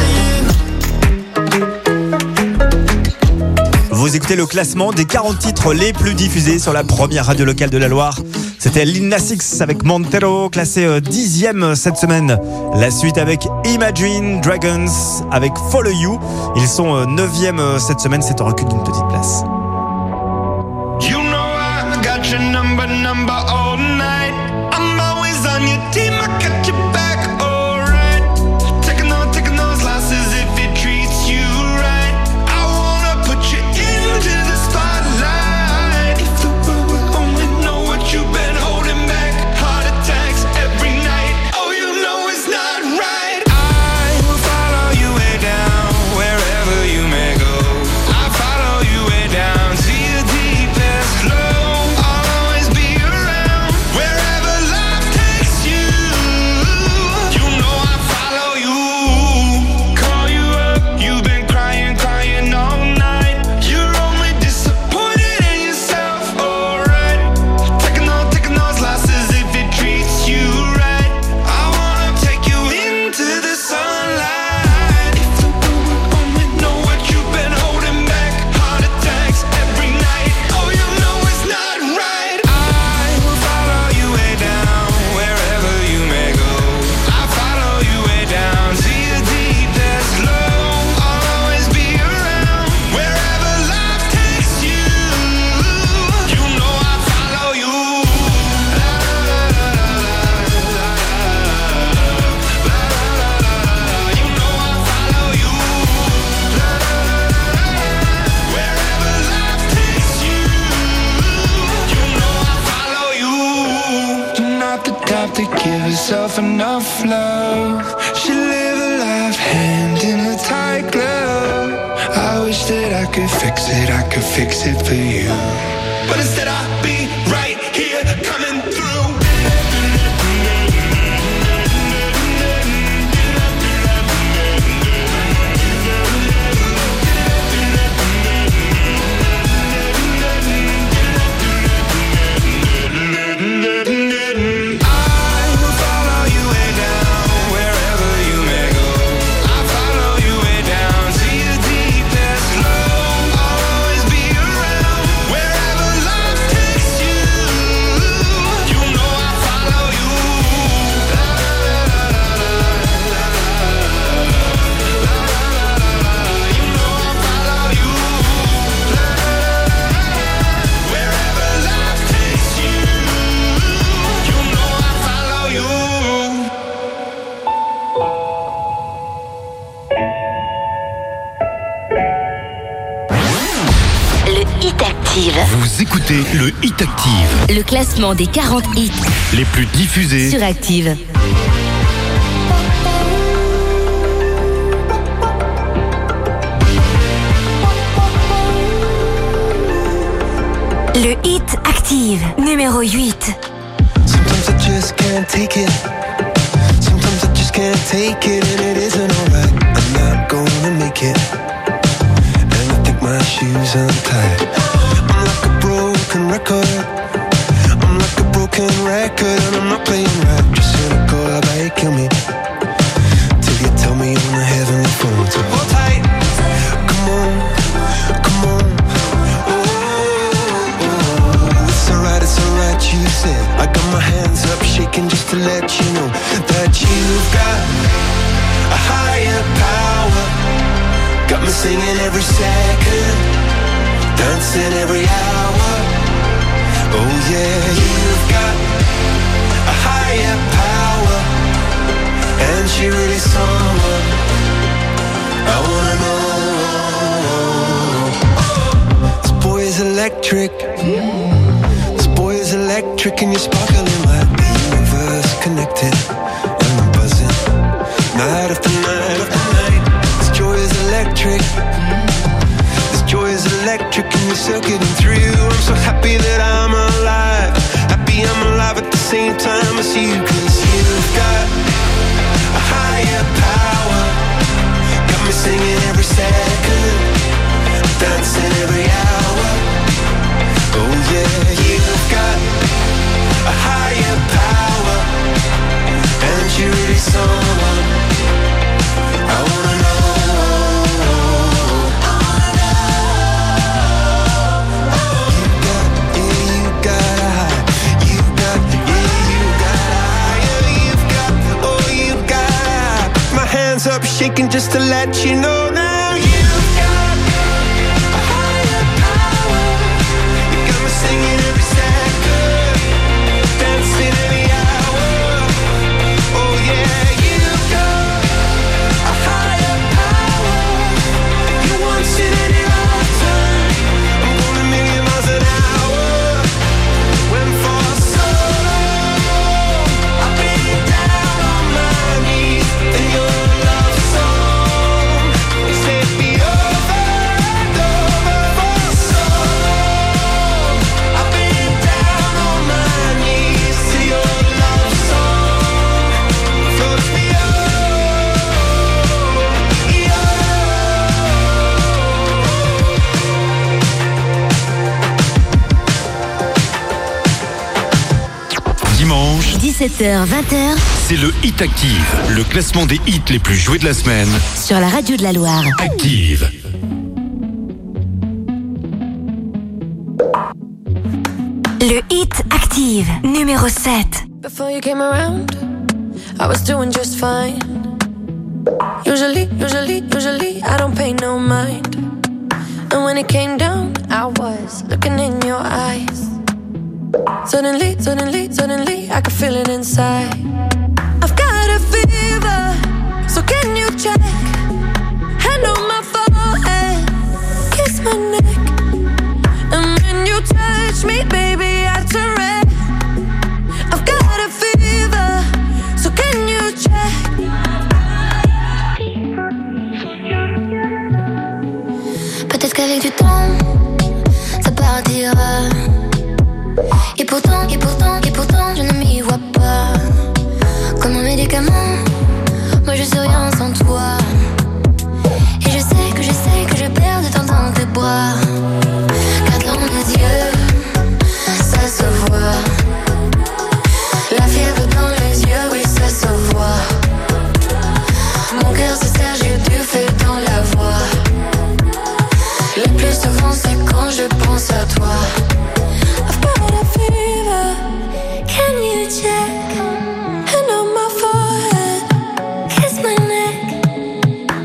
you're lying. Vous écoutez le classement des quarante titres les plus diffusés sur la première radio locale de la Loire. C'était Lil Nas X avec Montero, classé dixième cette semaine. La suite avec Imagine Dragons avec Follow You. Ils sont neuvième cette semaine, c'est un recul d'une petite place. You know I got your number, number all night. I'm always on your team, I got your back, alright. Taking on, taking those losses if it treats you right. I wanna put you into the spotlight. If the world would only know what you've been holding back. Heart attacks every night. Oh, you know it's not right. I will follow you way down, wherever you may go. I follow you way down to your deepest low. I'll always be around, wherever life takes you. You know I follow you. Call you up, you've been crying, crying all night. You're only disappointed in yourself, alright. Taking on, taking those losses if it treats you right. I wanna take you into the sunlight. If the world would only know what you've been holding back. Heart attacks every night. Oh, you know it's not right. I will follow you way down, wherever you may go. I follow you way down to your deepest low. I'll always be around, wherever life takes you. You know I follow you. You know I follow you. Wherever life takes you. You know I follow you. You're not the type to give yourself enough love. Should live a life hand in a tight glove. I wish that I could fix it, I could fix it for you. But instead I'll be right here coming through. I will follow you way down, wherever you may go. I follow you way down to your deepest low. I'll always be around, wherever life takes you. You know I follow you. You know I follow you. Wherever life takes you. You know I follow you. Le Hit Active. Vous écoutez le Hit Active, Le classement des quarante hits les plus diffusés. sur Active. Le Hit Active, numéro huit. Sometimes I just can't take it. Sometimes I just can't take it, and it isn't alright. I'm not gonna make it. my shoes untied. I'm like a broken record. I'm like a broken record, and I'm not playing right. Just cynical, how about you kill me till you tell me on the heavenly phone. So hold tight, come on, come on. Oh, oh, it's alright, it's alright, you said. I got my hands up, shaking just to let you know that you've got a higher power. Got me singing every second, dancing every hour. Oh yeah, you've got a higher power, and she really someone I wanna know. This boy is electric. This boy is electric, and you're sparkling like the universe connected. And I'm buzzing night after night after night. This joy is electric. This joy is electric, and you're circuiting through. I'm so happy that I'm alive. Happy I'm alive at the same time as you. Cause you've got a higher power. Got me singing every second, dancing every hour. Oh yeah, you've got a higher power, and you're really someone I wanna know. Up shaking just to let you know now you've got a higher power. You got me singing every second, dancing every hour. Oh yeah, you've got a higher power. You once in any lifetime. I'm going a million miles an hour. When for so long I've been down on my knees in your dix-sept heures vingt, c'est le Hit Active, le classement des hits les plus joués de la semaine. Sur la radio de la Loire. Active. Le Hit Active, numéro sept. Before you came around, I was doing just fine. Usually, usually, usually, I don't pay no mind. And when it came down, I was looking in your eyes. Suddenly, suddenly, suddenly, I could feel it inside. I've got a fever, so can you check? Hand on my forehead, kiss my neck. And when you touch me, baby, I turn red. I've got a fever, so can you check? Peut-être qu'avec du temps, ça partira. Et pourtant, et pourtant, et pourtant, je ne m'y vois pas. Comme un médicament, moi je suis rien sans toi. Et je sais que je sais que je perds de temps dans tes bras. Car dans mes yeux, ça se voit. La fièvre dans les yeux, oui ça se voit. Mon cœur se serre, j'ai du feu dans la voix. Le plus souvent c'est quand je pense à toi. Can you check? Hand on my forehead, kiss my neck.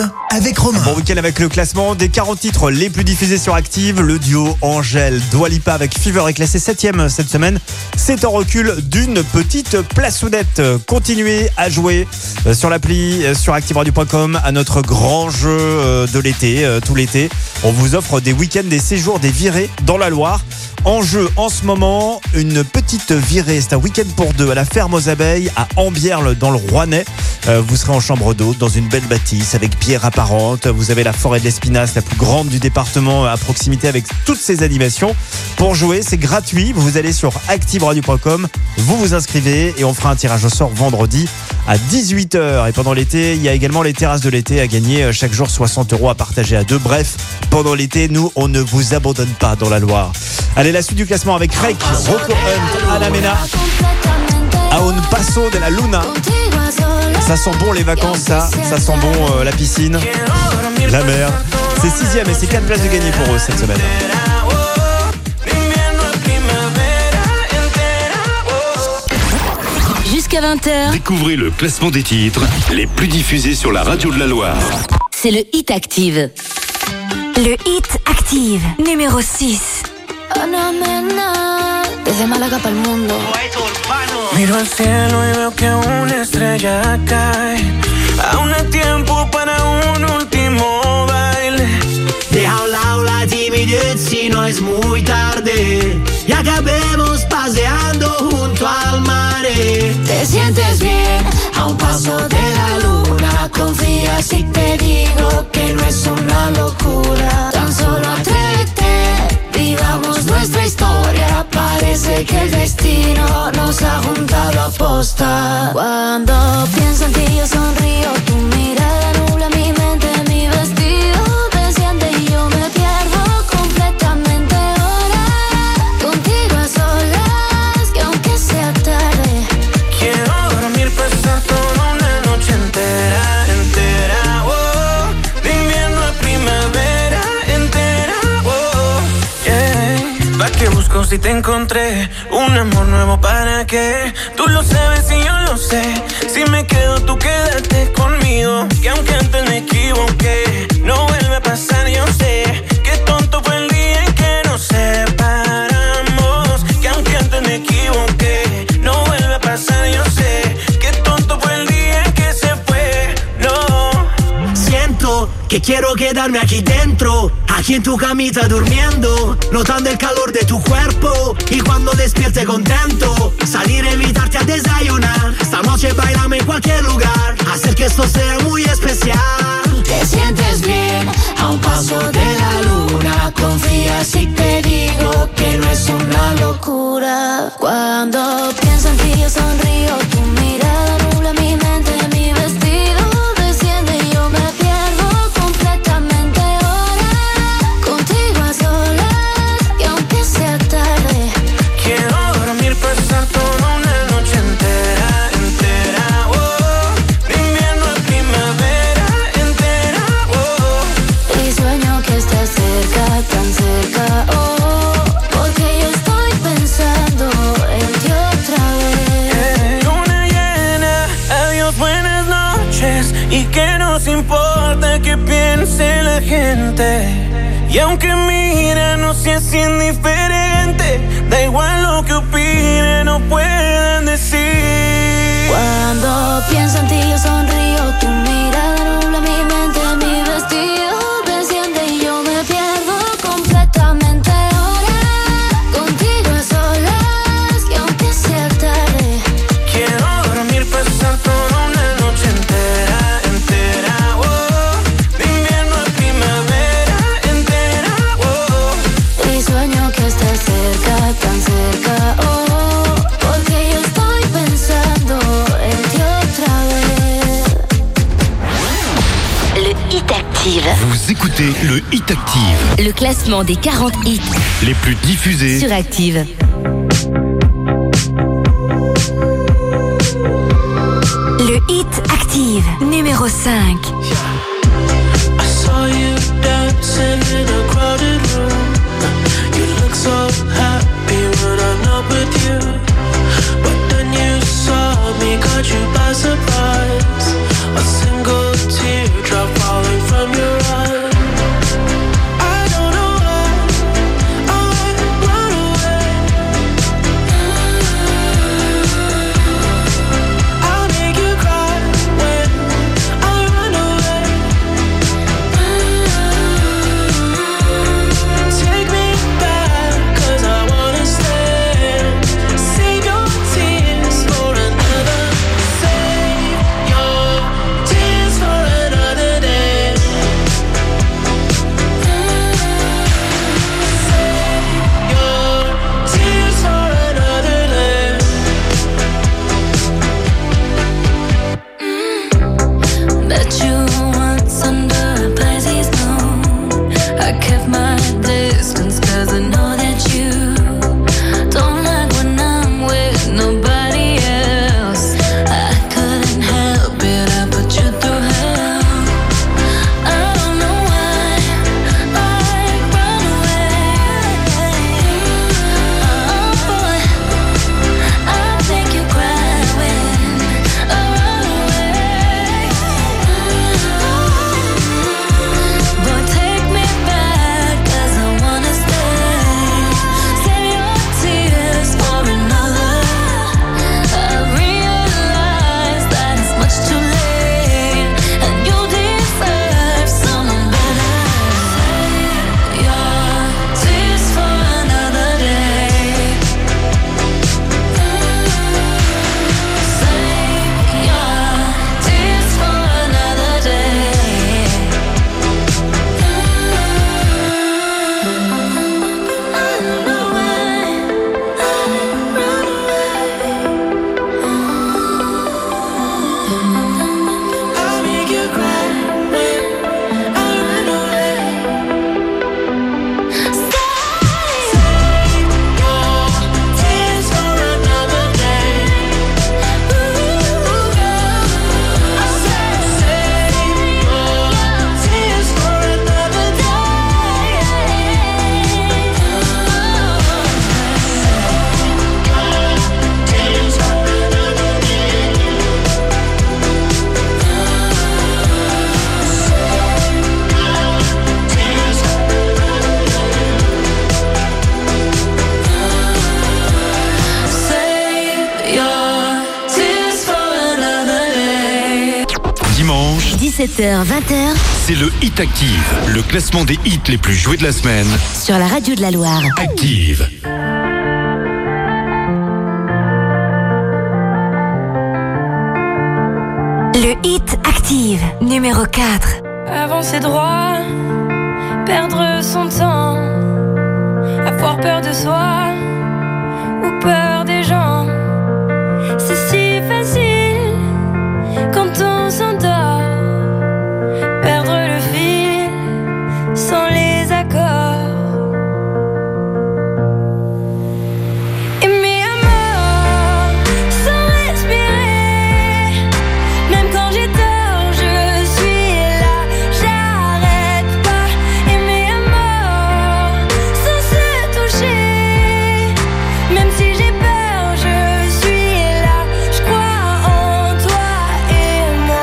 avec Romain. Bon week-end avec le classement des quarante titres les plus diffusés sur Active. Le duo Angèle Dua Lipa avec Fever est classé septième cette semaine. C'est en recul d'une petite plaçonnette. Continuez à jouer sur l'appli, sur active radio point com à notre grand jeu de l'été. Tout l'été, on vous offre des week-ends, des séjours, des virées dans la Loire. En jeu en ce moment, une petite virée, c'est un week-end pour deux à la ferme aux abeilles à Ambierle dans le Rouennais. Euh, vous serez en chambre d'hôte dans une belle bâtisse avec pierres apparentes. Vous avez la forêt de l'Espinasse, la plus grande du département, à proximité avec toutes ces animations. Pour jouer, c'est gratuit. Vous allez sur active radio point com, vous vous inscrivez et on fera un tirage au sort vendredi à dix-huit heures. Et pendant l'été, il y a également les terrasses de l'été à gagner chaque jour soixante euros à partager à deux. Bref, pendant l'été, nous, on ne vous abandonne pas dans la Loire. Allez, la suite du classement avec Rake, Rocco Hunt, Ana Mena, A un paso de la luna. Ça sent bon les vacances, ça. Ça sent bon euh, la piscine, la mer. C'est sixième et c'est quatre places de gagner pour eux cette semaine. Jusqu'à vingt heures. Découvrez le classement des titres les plus diffusés sur la radio de la Loire. C'est le Hit Active. Le Hit Active, numéro six. Ana Mena, desde Málaga para el mundo. Miro al cielo y veo que una estrella cae. Aún hay tiempo para un último baile. Deja a un lado la timidez si no es muy tarde. Y acabemos paseando junto al mar. Te sientes bien a un paso de la luna. Confía si te digo que no es una locura. Tan solo atrévete, vivamos nuestra historia. Parece que el destino nos ha juntado a posta. Cuando pienso en ti yo sonrío. Tu mirada nubla mi mente, mi vestido desciende y yo me pierdo completamente ahora. Contigo a solas, que aunque sea tarde, quiero dormir, pasar toda una noche entera, entera, oh. De invierno a primavera, entera, oh, yeah. ¿Pa' qué busco si te encontré? Un amor nuevo, ¿para qué? Tú lo sabes y yo lo sé. Si me quedo, tú quédate conmigo. Que aunque antes me equivoqué, no vuelve a pasar, yo sé. Qué tonto fue el día en que nos separamos. Que aunque antes me equivoqué, no vuelve a pasar, yo sé. Qué tonto fue el día en que se fue, no. Siento que quiero quedarme aquí dentro, aquí en tu camita durmiendo, notando el calor de tu cuerpo. Y cuando despierte contento, salir a invitarte a desayunar. Esta noche bailame en cualquier lugar, hacer que esto sea muy especial. te sientes bien a un paso de la luna. Confía si te digo que no es una locura. Cuando pienso en ti yo sonrío. Tu mirada nubla mi mente, mi vestido desciende y yo me pierdo completamente ahora. Contigo a solas, y aunque sea tarde, quiero dormir, pasar toda una noche entera, entera, oh. De invierno a primavera, entera, oh. y sueño que estás cerca, tan cerca, oh. Porque yo estoy pensando en ti otra vez. Luna llena, adiós, buenas noches. Y que nos importa que piense la gente. Y aunque mira, no seas indiferente. Da igual lo que opinen o puedan decir. Cuando pienso en ti yo sonrío. Tu mirada nubla mi mente, mi vestido desciende y yo me pierdo completamente ahora. Contigo a solas, y aunque sea tarde, quiero dormir, pasar toda una noche entera, entera, oh. De invierno a primavera, entera, oh. y sueño que estás cerca, tan cerca, oh. Porque yo estoy pensando en ti otra vez. Le Hit Active. Vous écoutez le Hit Active, Le classement des quarante hits les plus diffusés sur Active. Le Hit Active, numéro cinq. I saw you dancing in a crowded room. You look so happy when I'm not with you. But then you saw me, caught you by surprise. A single teardrop falling dix-sept heures vingt, C'est le Hit Active, le classement des hits les plus joués de la semaine. sur la radio de la Loire. Active. Le Hit Active, numéro quatre. Avancer droit, perdre son temps, avoir peur de soi ou peur des gens. C'est si facile quand on s'endort, perdre le fil sans les accords. Aimer à mort sans respirer, même quand j'ai tort, je suis là, j'arrête pas. Aimer à mort sans se toucher, même si j'ai peur, je suis là, je crois en toi et moi.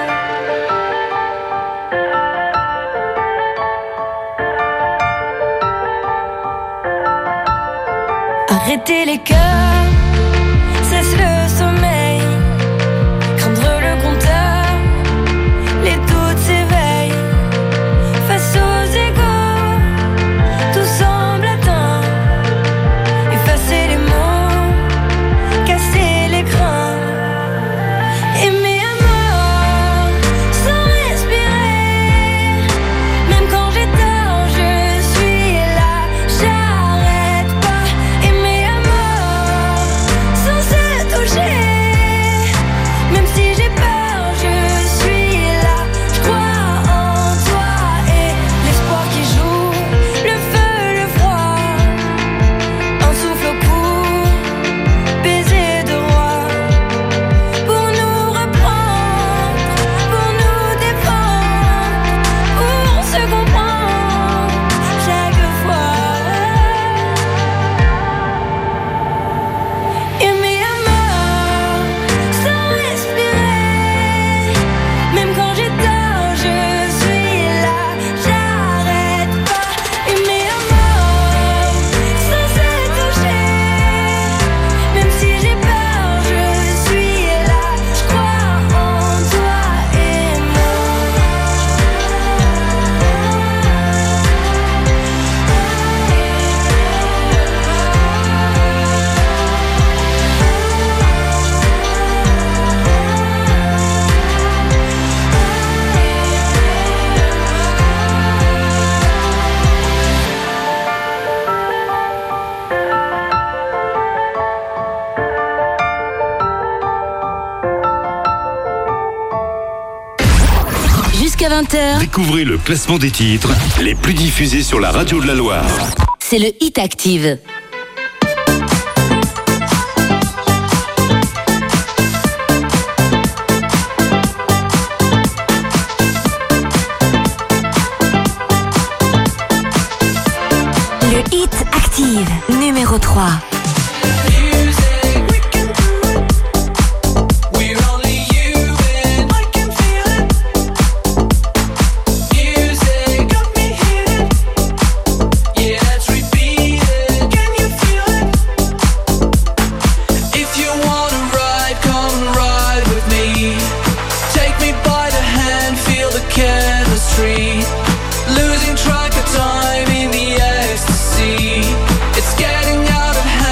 Arrêter les cœurs, cesse le sommeil, craindre le compteur, les doutes s'éveillent. Face aux égaux, tout semble atteint. Effacer les mots, casser l'écran. Aimer à mort, sans respirer, même quand j'ai tort, je suis là, j'arrête pas. Aimer à mort, sans se toucher, même si j'ai peur, je suis là, je crois en toi et l'espoir qui joue, le feu, le froid, un souffle au cou, baiser de roi, pour nous reprendre, pour nous défendre, pour se comprendre chaque fois. Aimer à mort, sans respirer, même quand j'ai tort, je suis là, j'arrête pas. Aimer à mort, sans se toucher, même si j'ai peur, je suis là, je crois en toi et moi. Jusqu'à vingt heures, Découvrez le classement des titres les plus diffusés sur la radio de la Loire. c'est le Hit Active. Le Hit Active, numéro trois. Losing track of time in the ecstasy. It's getting out of hand.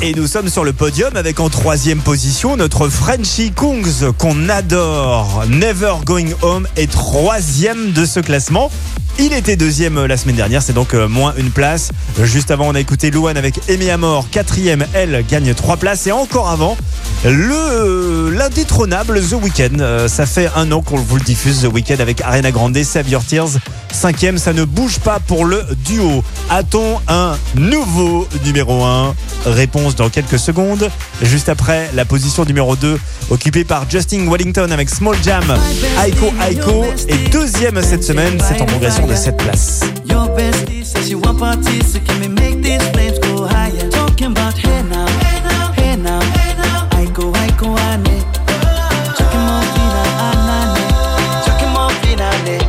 Et nous sommes sur le podium avec en troisième position notre Frenchie Kungs qu'on adore. Never Going Home est troisième de ce classement. Il était deuxième la semaine dernière, c'est donc moins une place. Juste avant, on a écouté Luan avec Aimé à mort. Quatrième, elle gagne trois places. Et encore avant, le l'indétrônable The Weeknd. Ça fait un an qu'on vous le diffuse, The Weeknd avec Ariana Grande, Save Your Tears. Cinquième, ça ne bouge pas pour le duo. A-t-on un nouveau numéro un? Réponse dans quelques secondes. Juste après, la position numéro deux, occupée par Justin Wellington avec Small Jam, Aiko Aiko. Et deuxième cette semaine, c'est en progression de sept places. Your bestie says she want parties, so can we make these flames go higher? Talking about hey now, hey now, hey now, hey now. Aiko, Aiko, ane. Chucking more fina, anane. Chucking more fina, ane.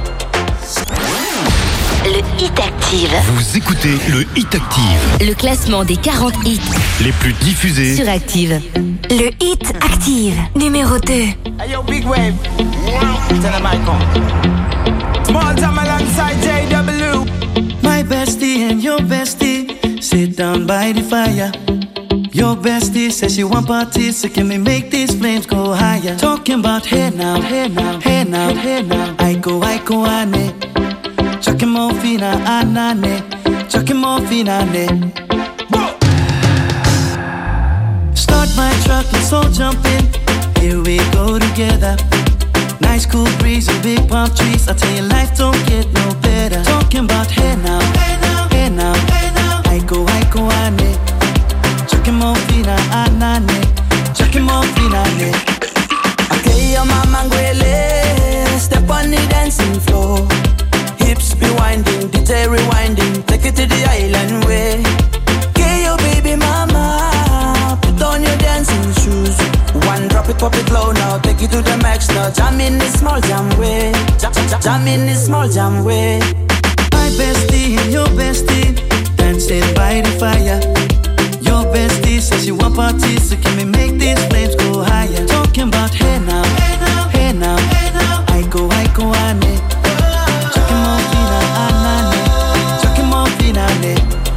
Le Hit Active. Vous écoutez le Hit Active. Le classement des quarante hits Les plus diffusés sur Active. Le Hit Active, numéro deux. Hey yo, Big Wave. Tell them I come. Small time alongside J W. My bestie and your bestie sit down by the fire. Your bestie says she want parties, so can we make these flames go higher? Talking about hey now, hey now, hey now, hey now. Aiko, Aiko, ane. Chucking more fina, anane. Chucking more fina, ane. Start my truck, let's all jump in. Here we go together. Nice cool breeze and big palm trees. I tell you, life don't get no better. Talking about hey now, hey now, hey now, hey now. Aiko, Aiko, ane. Chucking more fina, anane. Chucking more fina, ane. Okay, your mama ngwele. Step on the dancing floor. Hips be winding, D J rewinding. Take it to the island way. Okay, your baby mama. Put on your dancing shoes. One drop it, pop it low now. Take it to the max now. Jam in this small jam way. Jam, jam, jam in this small jam way. My bestie and your bestie dancing by the fire. Your bestie says she want parties, so can we make these flames go higher? Talking about hey now, hey now, hey now, hey now. Aiko, Aiko, ane. Chucking more fina, anane. Chucking more fina, ane.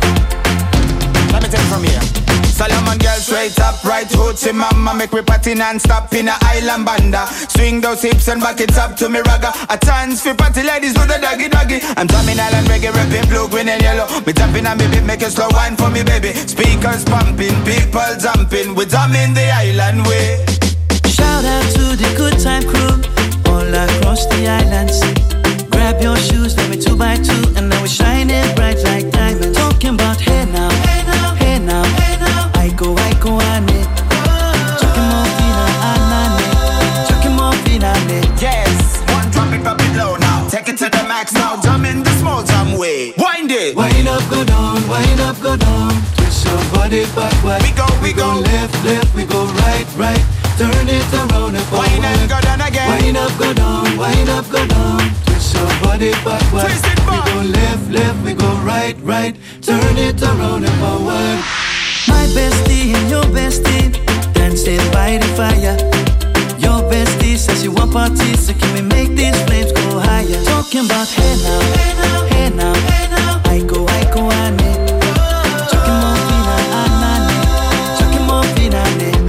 Let me take it from here. Solomon girl straight up, right hoochie mama. Make me party non-stop in a island banda. Swing those hips and back it up to me ragga. A chance for party ladies do the doggy doggy. I'm drumming island reggae, rapping blue, green and yellow. Me jumping on me beat, make a slow wine for me baby. Speakers pumping, people jumping. We drumming the island way. Shout out to the good time crew all across the islands. Grab your shoes, let me two by two, and now we're shining bright like diamonds. Talking about hey now, hey now, hey now, hey now. Aiko, Aiko, ane. Chucking more fina, anane. Chucking more fina, ane. Yes, one drop it, pop it low now. Take it to the max now. Jump in the small jam way. Wind it. Wind up, go down, wind up, go down. Twist your body backward. We go, we, we go. go left, left, we go right, right. Turn it around and forward. Wind up, go down again. Wind up, go down, wind up, go down. Twist your body backward. Twist it back. We go left, left, we go right, right. Turn it around and forward. My bestie and your bestie dancing by the fire. Your bestie says she want parties, so can we make these flames go higher? Talking about hey now, hey now, hey now, hey now. Aiko, Aiko, ane. Chucking more fina, anane. Chucking more fina,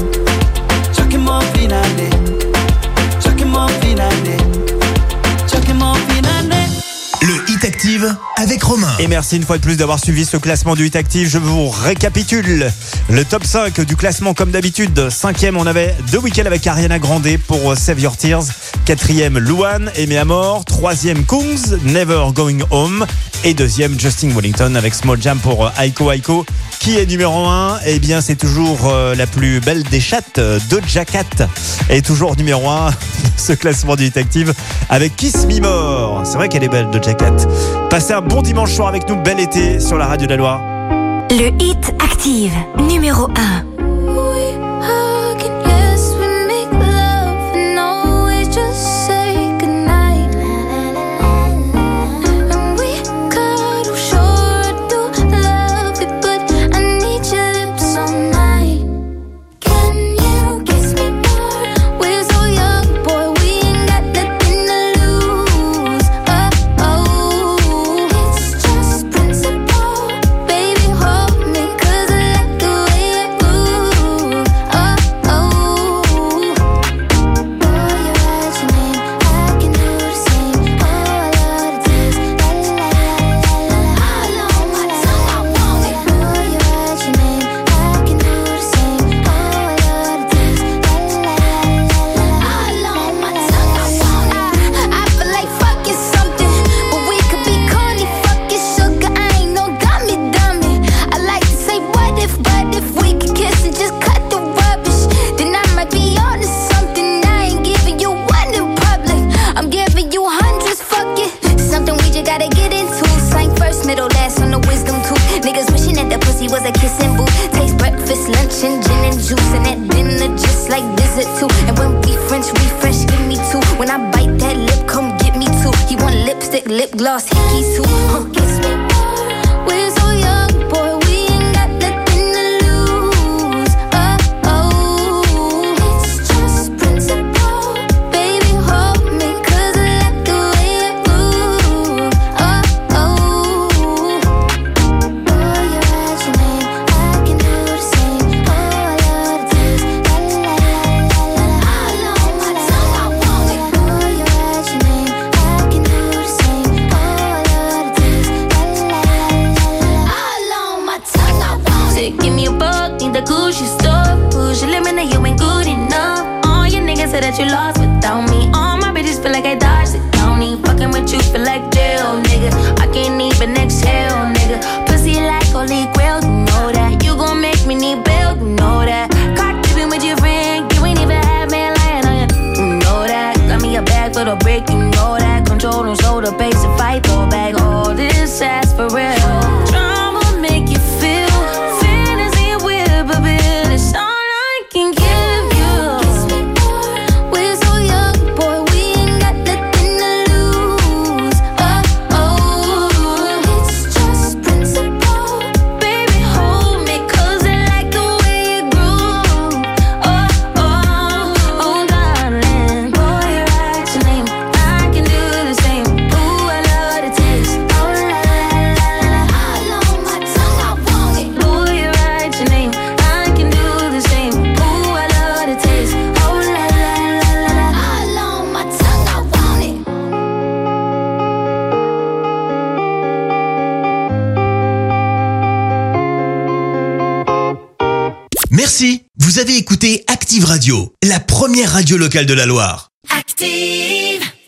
ane. Chucking more fina, ane. Chucking more fina, ane. Chucking more fina, ane. Le Hit Active avec Romain. Et merci une fois de plus d'avoir suivi ce classement du Hit Active. Je vous récapitule le top cinq du classement comme d'habitude. Cinquième, on avait The Weeknd avec Ariana Grande pour Save Your Tears. Quatrième, Luan, Aimé à mort. Troisième, Kungs, Never Going Home. Et deuxième, Justin Wellington avec Small Jam pour Aiko Aiko. Qui est numéro un? Eh bien, c'est toujours euh, la plus belle des chattes, Doja Cat. Et toujours numéro un, ce classement du Hit Active avec Kiss Me More. C'est vrai qu'elle est belle, Doja Cat. Passez un bon dimanche soir avec nous, bel été sur la radio de la Loire. Le Hit Active, numéro un. Baby, hold me, 'cause I like the way it moves. lip gloss, hickey too. Huh, kiss me more. We're so young, boy, we ain't got nothing to lose. Oh, oh, it's just principle. Baby, hold me, cause I like the way you move. Oh, oh, boy, you write your name, I can do the same. Oh, I love the taste, la la la la la la. All on my tongue, I want it. Boy, you write your name, I can do the same. Oh, I love the taste, la la la la la. All on my tongue, I want it. Say, give me a buck, need the Gucci store. Push your limit, now you ain't good enough. All your niggas say that you lost without me. All my bitches feel like I dodged it. Don't even fucking with you, feel like jail, nigga. I can't even exhale, nigga. Pussy like holy grail, you know that. You gon' make me need bail, you know that. Caught dipping with your friend, you ain't even have man lying on you, you know that. Got me a bag for the brick, you know that. Control and shoulder, pace and fight, throw back all this ass for real. Drama make you feel, fantasy will, but it's all I can give you. We're so young, boy, we ain't got nothing to lose. Oh, oh, it's just principle. Baby, hold me, cause I like the way you groove. Oh, oh, oh, darling. Boy, you write your name, I can do the same. Ooh, I love the taste. Oh, la, la, la, la. All on my tongue, I want it. Boy, you write your name, I can do the same. Ooh, I love the taste. Oh, la, la, la, la, la. All on my tongue, I want it. Merci, vous avez écouté Active Radio, la première radio locale de la Loire. Active.